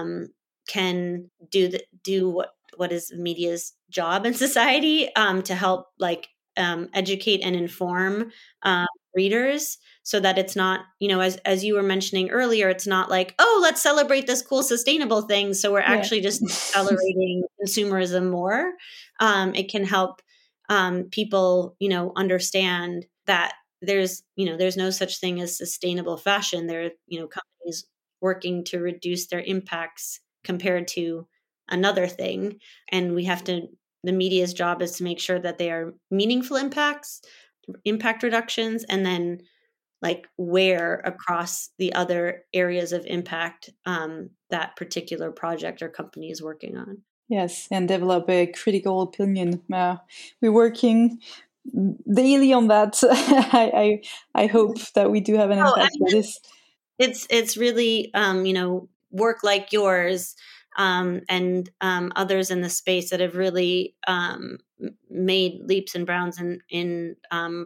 can do what is media's job in society, to help like educate and inform readers, so that it's not, as you were mentioning earlier, it's not like, oh, let's celebrate this cool sustainable thing, so we're actually just accelerating consumerism more. It can help people understand that there's no such thing as sustainable fashion. There are companies working to reduce their impacts compared to another thing, and the media's job is to make sure that they are meaningful impact reductions, and then like where across the other areas of impact that particular project or company is working on. Yes, and develop a critical opinion. We're working daily on that. I hope that we do have an impact for this. It's really work like yours and others in the space that have really made leaps and bounds in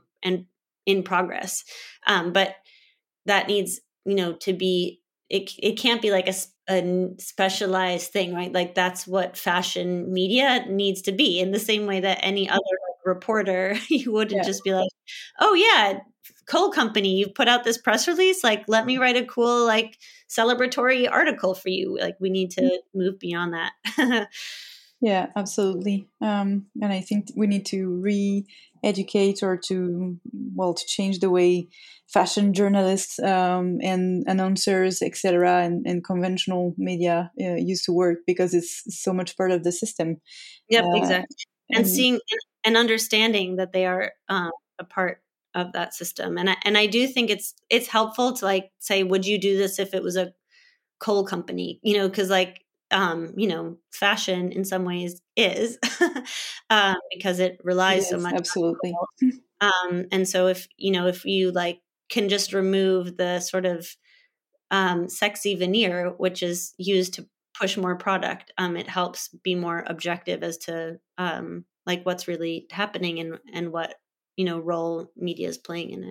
progress. But that needs to be, it can't be like a specialized thing, right? Like that's what fashion media needs to be, in the same way that any other reporter, you wouldn't just be like, oh yeah, Coal Company, you've put out this press release, like let me write a cool like celebratory article for you. Like we need to move beyond that. Yeah, absolutely. And I think we need to re-educate or to change the way fashion journalists and announcers, etc., and conventional media used to work, because it's so much part of the system. Yep, exactly. And seeing and understanding that they are a part of that system. And I do think it's helpful to like say, would you do this if it was a coal company? Because like fashion in some ways is because it relies so much. Absolutely. And so if you like can just remove the sort of sexy veneer, which is used to push more product, it helps be more objective as to like what's really happening and what role media is playing in it.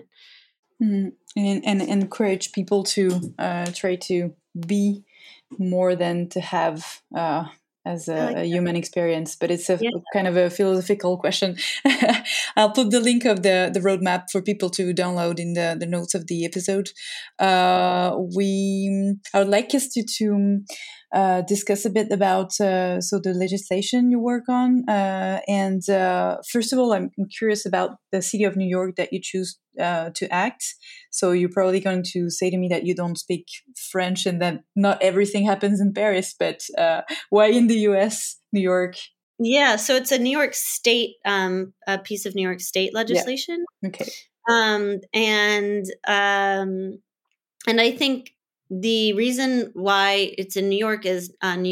And encourage people to try to be more than to have as a human experience. But it's a kind of a philosophical question. I'll put the link of the roadmap for people to download in the notes of the episode. I would like us to discuss a bit about the legislation you work on. And first of all, I'm curious about the city of New York that you choose to act. So you're probably going to say to me that you don't speak French and that not everything happens in Paris, but why in the US, New York? Yeah, so it's a New York State, a piece of New York State legislation. Yeah. Okay. And I think the reason why it's in New York is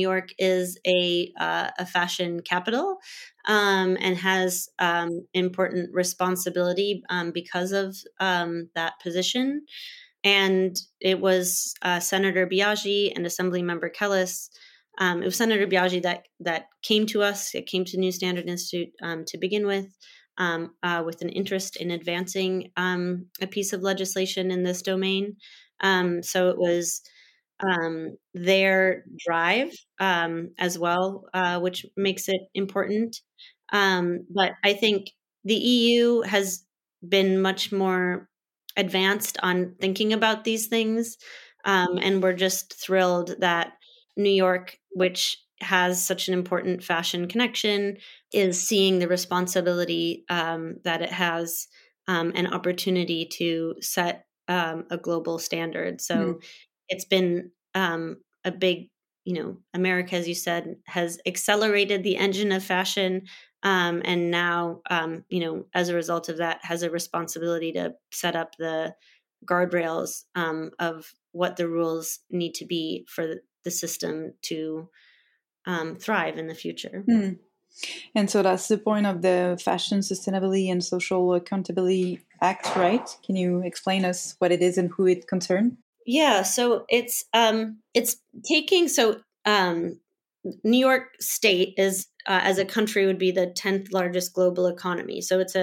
a fashion capital, and has important responsibility because of that position. And it was Senator Biaggi and Assemblymember Kellis. It was Senator Biaggi that came to us. It came to New Standard Institute to begin with an interest in advancing a piece of legislation in this domain. So it was their drive as well, which makes it important. But I think the EU has been much more advanced on thinking about these things. And we're just thrilled that New York, which has such an important fashion connection, is seeing the responsibility that it has an opportunity to set a global standard. So it's been a big, America, as you said, has accelerated the engine of fashion. And now, as a result of that, has a responsibility to set up the guardrails of what the rules need to be for the system to thrive in the future. And so that's the point of the Fashion Sustainability and Social Accountability Act, right? Can you explain us what it is and who it concerns? Yeah, so it's taking New York State is as a country would be the 10th largest global economy. So it's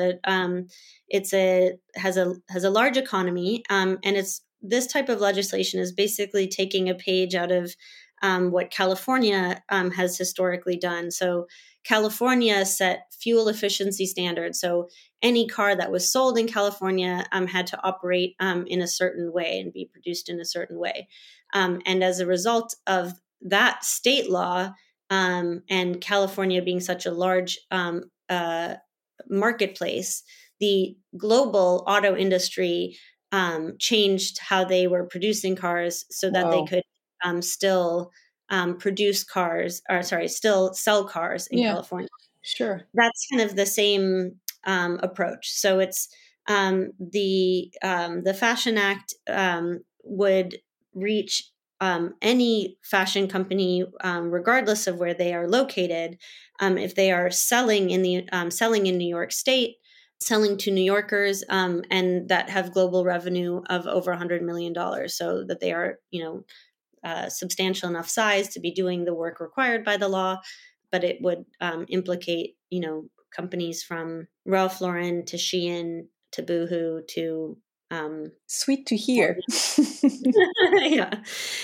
has a large economy, and it's this type of legislation is basically taking a page out of what California has historically done. So California set fuel efficiency standards. So any car that was sold in California had to operate in a certain way and be produced in a certain way. And as a result of that state law, and California being such a large marketplace, the global auto industry changed how they were producing cars so that they could still produce cars, or sorry, still sell cars in California. Sure. That's kind of the same approach. So it's the Fashion Act would reach any fashion company, regardless of where they are located, if they are selling in New York State, selling to New Yorkers, and that have global revenue of over $100 million, so that they are, substantial enough size to be doing the work required by the law. But it would implicate, companies from Ralph Lauren to Shein to Boohoo to sweet to hear. Yeah.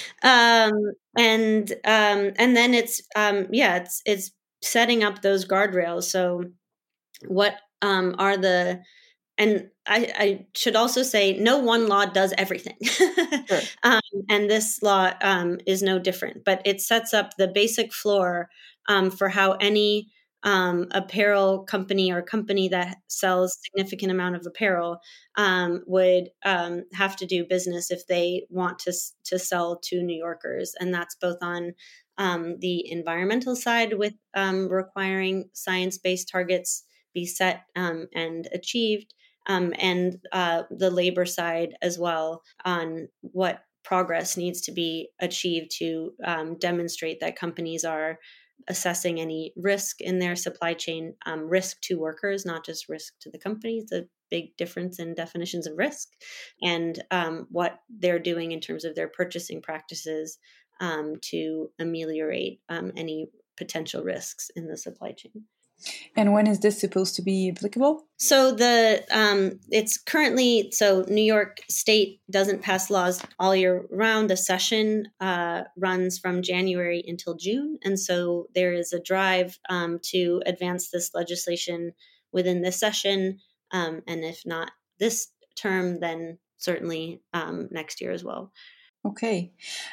And then it's setting up those guardrails. So what are the, and I should also say, no one law does everything. Sure. And this law is no different, but it sets up the basic floor for how any apparel company or company that sells significant amount of apparel would have to do business if they want to sell to New Yorkers. And that's both on the environmental side with requiring science-based targets be set and achieved, and the labor side as well on what progress needs to be achieved to demonstrate that companies are assessing any risk in their supply chain, risk to workers, not just risk to the company. It's a big difference in definitions of risk, and what they're doing in terms of their purchasing practices to ameliorate any potential risks in the supply chain. And when is this supposed to be applicable? So it's currently, New York State doesn't pass laws all year round. The session runs from January until June. And so there is a drive to advance this legislation within this session. And if not this term, then certainly next year as well. Okay.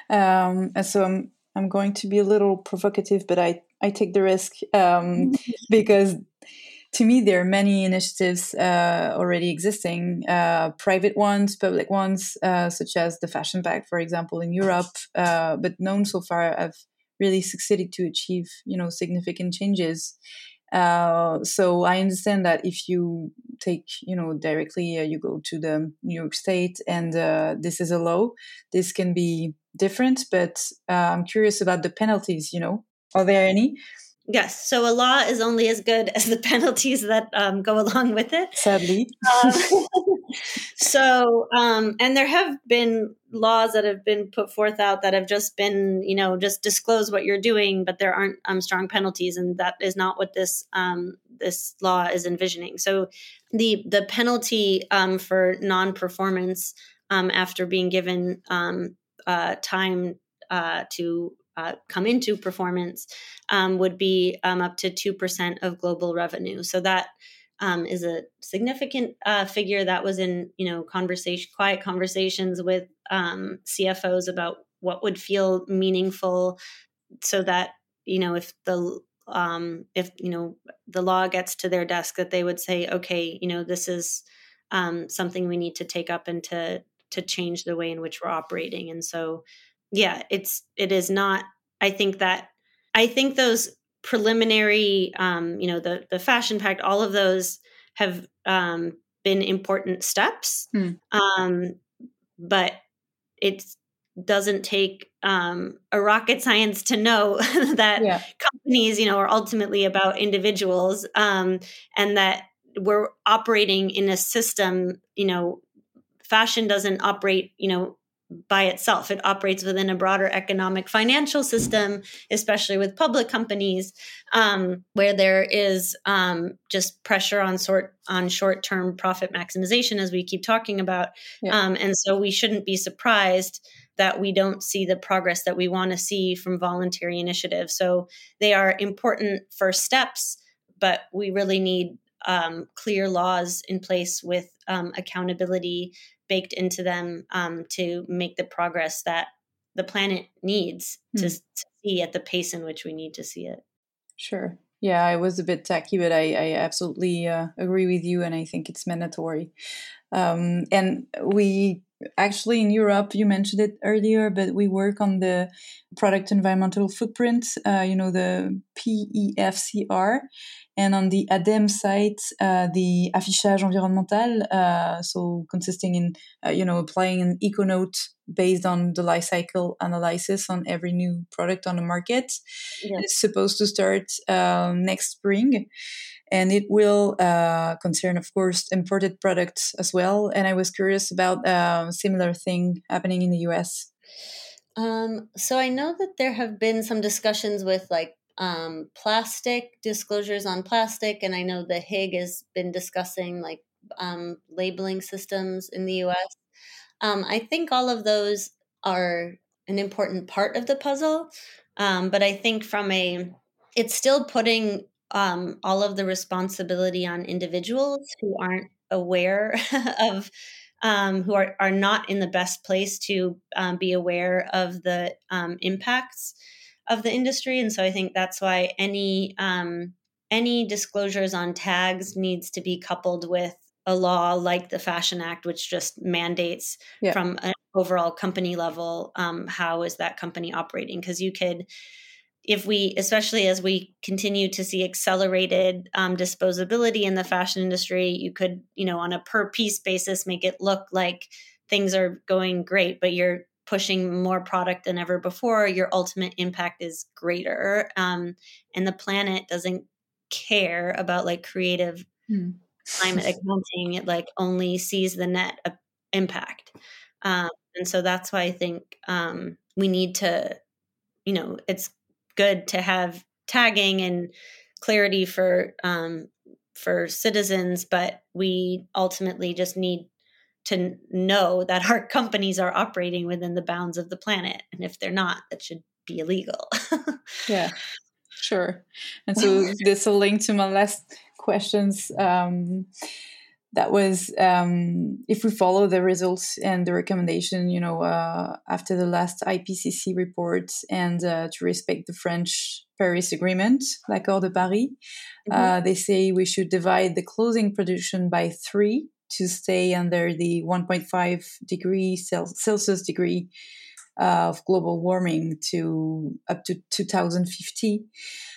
So I'm going to be a little provocative, but I take the risk because to me, there are many initiatives already existing, private ones, public ones, such as the Fashion Pact, for example, in Europe, but none so far have really succeeded to achieve, significant changes. So I understand that if you take, directly, you go to the New York State and this is a law, this can be different, but I'm curious about the penalties, Are there any? Yes. So a law is only as good as the penalties that go along with it. Sadly. And there have been laws that have been put forth out that have just been, just disclose what you're doing, but there aren't strong penalties. And that is not what this law is envisioning. So the penalty for non-performance after being given time to come into performance would be up to 2% of global revenue. So that is a significant figure that was in, quiet conversations with CFOs about what would feel meaningful, so that, if the law gets to their desk, that they would say, okay, this is something we need to take up and to change the way in which we're operating. And so, yeah, it is not, I think those preliminary, the Fashion Pact, all of those have been important steps. But doesn't take a rocket science to know that companies, are ultimately about individuals, and that we're operating in a system. Fashion doesn't operate, by itself. It operates within a broader economic financial system, especially with public companies, where there is just pressure on short-term profit maximization, as we keep talking about. And so we shouldn't be surprised that we don't see the progress that we want to see from voluntary initiatives. So they are important first steps, but we really need clear laws in place with accountability baked into them to make the progress that the planet needs to see at the pace in which we need to see it. Sure. Yeah, I was a bit tacky, but I absolutely agree with you, and I think it's mandatory. And we actually in Europe, you mentioned it earlier, but we work on the product environmental footprint, the PEFCR, and on the ADEME site, the affichage environnemental, so consisting in, applying an eco-note based on the life cycle analysis on every new product on the market. Yeah. It's supposed to start next spring. And it will concern, of course, imported products as well. And I was curious about a similar thing happening in the US. So I know that there have been some discussions with plastic disclosures on plastic. And I know the Hague has been discussing labeling systems in the US. I think all of those are an important part of the puzzle. But I think it's still putting all of the responsibility on individuals who aren't aware of, who are not in the best place to be aware of the impacts of the industry. And so I think that's why any disclosures on tags needs to be coupled with a law like the Fashion Act, which just mandates from an overall company level, how is that company operating? Because you could, especially as we continue to see accelerated disposability in the fashion industry, you could, on a per piece basis, make it look like things are going great, but you're pushing more product than ever before. Your ultimate impact is greater. And the planet doesn't care about creative climate accounting. It only sees the net impact. And so that's why I think we need to, it's good to have tagging and clarity for citizens, but we ultimately just need to know that our companies are operating within the bounds of the planet. And if they're not, that should be illegal. Yeah, sure. And so this will link to my last questions. That was if we follow the results and the recommendation, after the last IPCC report, and to respect the French Paris Agreement, l'Accord de Paris, they say we should divide the clothing production by 3 to stay under the 1.5 degree Celsius degree of global warming to up to 2050.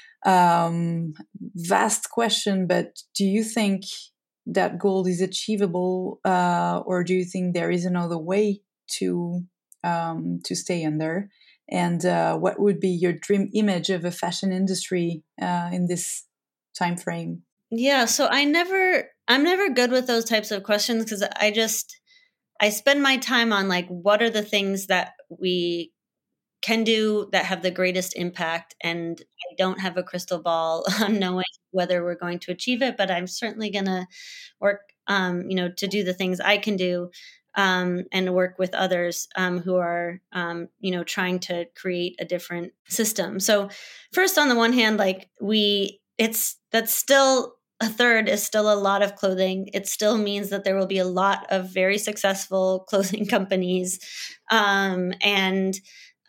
Vast question, but do you think that goal is achievable, or do you think there is another way to stay under? And what would be your dream image of a fashion industry in this time frame? Yeah, so I'm never good with those types of questions, because I spend my time on what are the things that we can do that have the greatest impact, and I don't have a crystal ball on knowing whether we're going to achieve it, but I'm certainly going to work to do the things I can do, and work with others who are trying to create a different system. So first, on the one hand, that's still a third is still a lot of clothing. It still means that there will be a lot of very successful clothing companies, and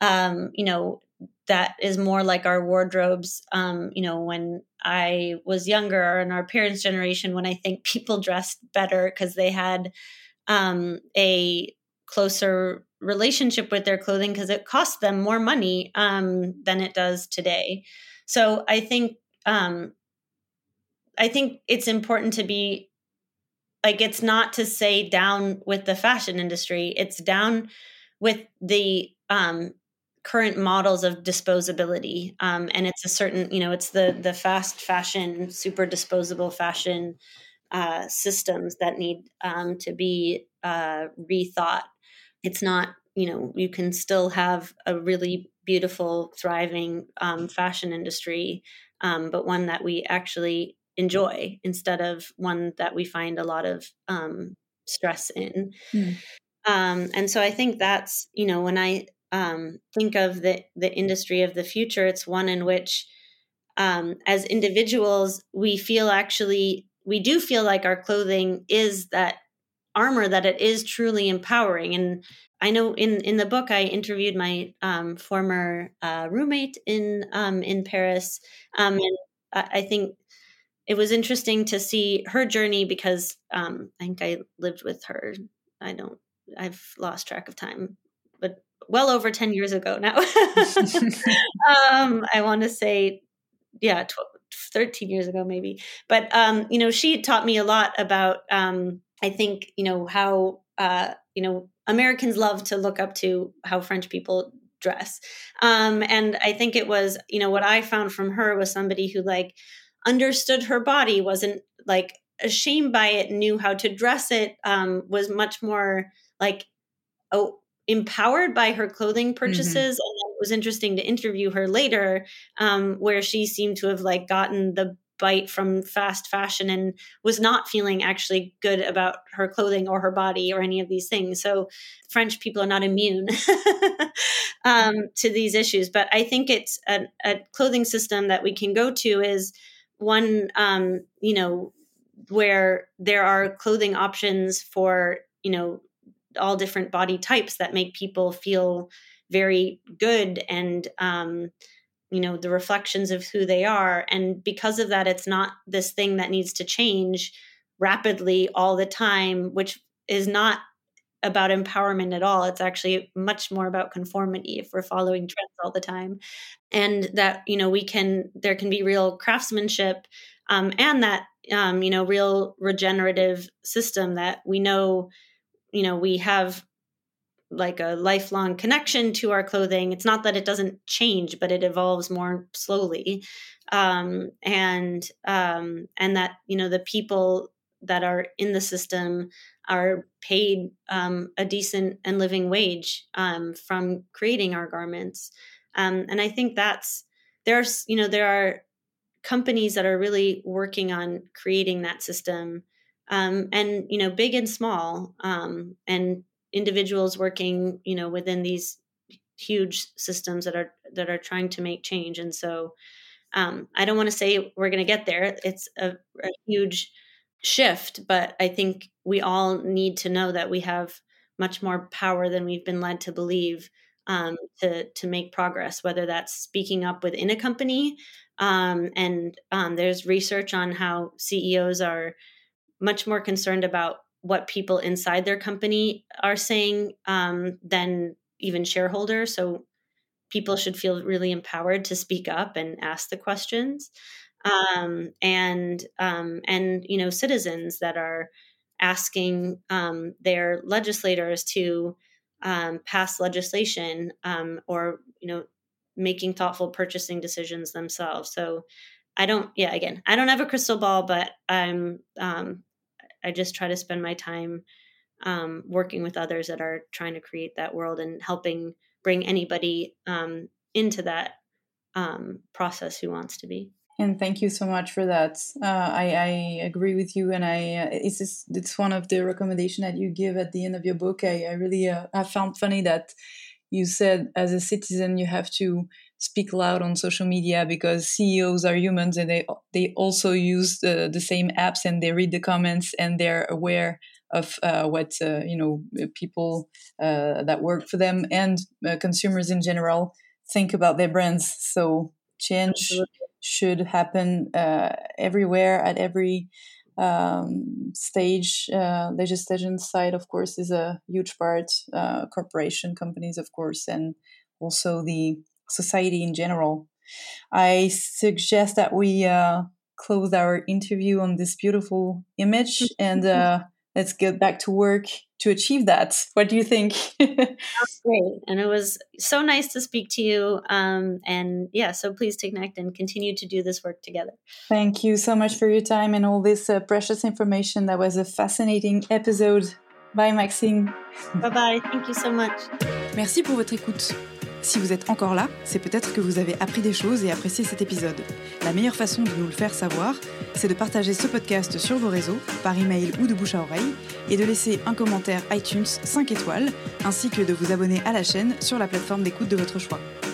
that is more like our wardrobes. When I was younger, and our parents' generation, when I think people dressed better because they had a closer relationship with their clothing, because it cost them more money than it does today. So I think it's important to be it's not to say down with the fashion industry. It's down with the current models of disposability, and it's a certain, it's the fast fashion, super disposable fashion systems that need to be rethought. It's not, you can still have a really beautiful, thriving fashion industry, but one that we actually enjoy instead of one that we find a lot of stress in. And so I think that's, when I think of the industry of the future, it's one in which as individuals, we do feel like our clothing is that armor, that it is truly empowering. And I know in the book, I interviewed my former roommate in Paris. And I think it was interesting to see her journey because I think I lived with her. I've lost track of time, but well over 10 years ago now. I want to say, 13 years ago, maybe. But, she taught me a lot about, I think, how, Americans love to look up to how French people dress. And I think it was, what I found from her was somebody who understood her body, wasn't ashamed by it, knew how to dress it, was much more empowered by her clothing purchases. And it was interesting to interview her later, where she seemed to have gotten the bite from fast fashion and was not feeling actually good about her clothing or her body or any of these things. So French people are not immune to these issues. But I think it's a clothing system that we can go to is one, where there are clothing options for, all different body types that make people feel very good and, the reflections of who they are. And because of that, it's not this thing that needs to change rapidly all the time, which is not about empowerment at all. It's actually much more about conformity if we're following trends all the time. And that, there can be real craftsmanship, and that, real regenerative system that we know, we have a lifelong connection to our clothing. It's not that it doesn't change, but it evolves more slowly. And that, the people that are in the system are paid a decent and living wage from creating our garments. And I think there are companies that are really working on creating that system, and, big and small, and individuals working, within these huge systems that are trying to make change. And so I don't want to say we're going to get there. It's a huge shift, but I think we all need to know that we have much more power than we've been led to believe, to make progress, whether that's speaking up within a company. And there's research on how CEOs are much more concerned about what people inside their company are saying than even shareholders. So people should feel really empowered to speak up and ask the questions. And citizens that are asking their legislators to pass legislation, or making thoughtful purchasing decisions themselves. So I don't have a crystal ball, but I just try to spend my time working with others that are trying to create that world and helping bring anybody into that process who wants to be. And thank you so much for that. I agree with you, and it's one of the recommendations that you give at the end of your book. I really I found funny that you said as a citizen you have to speak loud on social media because CEOs are humans and they also use the same apps and they read the comments and they're aware of what people that work for them and consumers in general think about their brands. So change Absolutely. should happen everywhere at every stage. Legislation side, of course, is a huge part. Corporation companies, of course, and also the society in general. I suggest that we close our interview on this beautiful image and let's get back to work to achieve that. What do you think? Great. And it was so nice to speak to you. And yeah, so please connect and continue to do this work together. Thank you so much for your time and all this precious information. That was a fascinating episode. Bye Maxine. Bye-bye. Thank you so much. Merci pour votre écoute. Si vous êtes encore là, c'est peut-être que vous avez appris des choses et apprécié cet épisode. La meilleure façon de nous le faire savoir, c'est de partager ce podcast sur vos réseaux, par email ou de bouche à oreille, et de laisser un commentaire iTunes 5 étoiles, ainsi que de vous abonner à la chaîne sur la plateforme d'écoute de votre choix.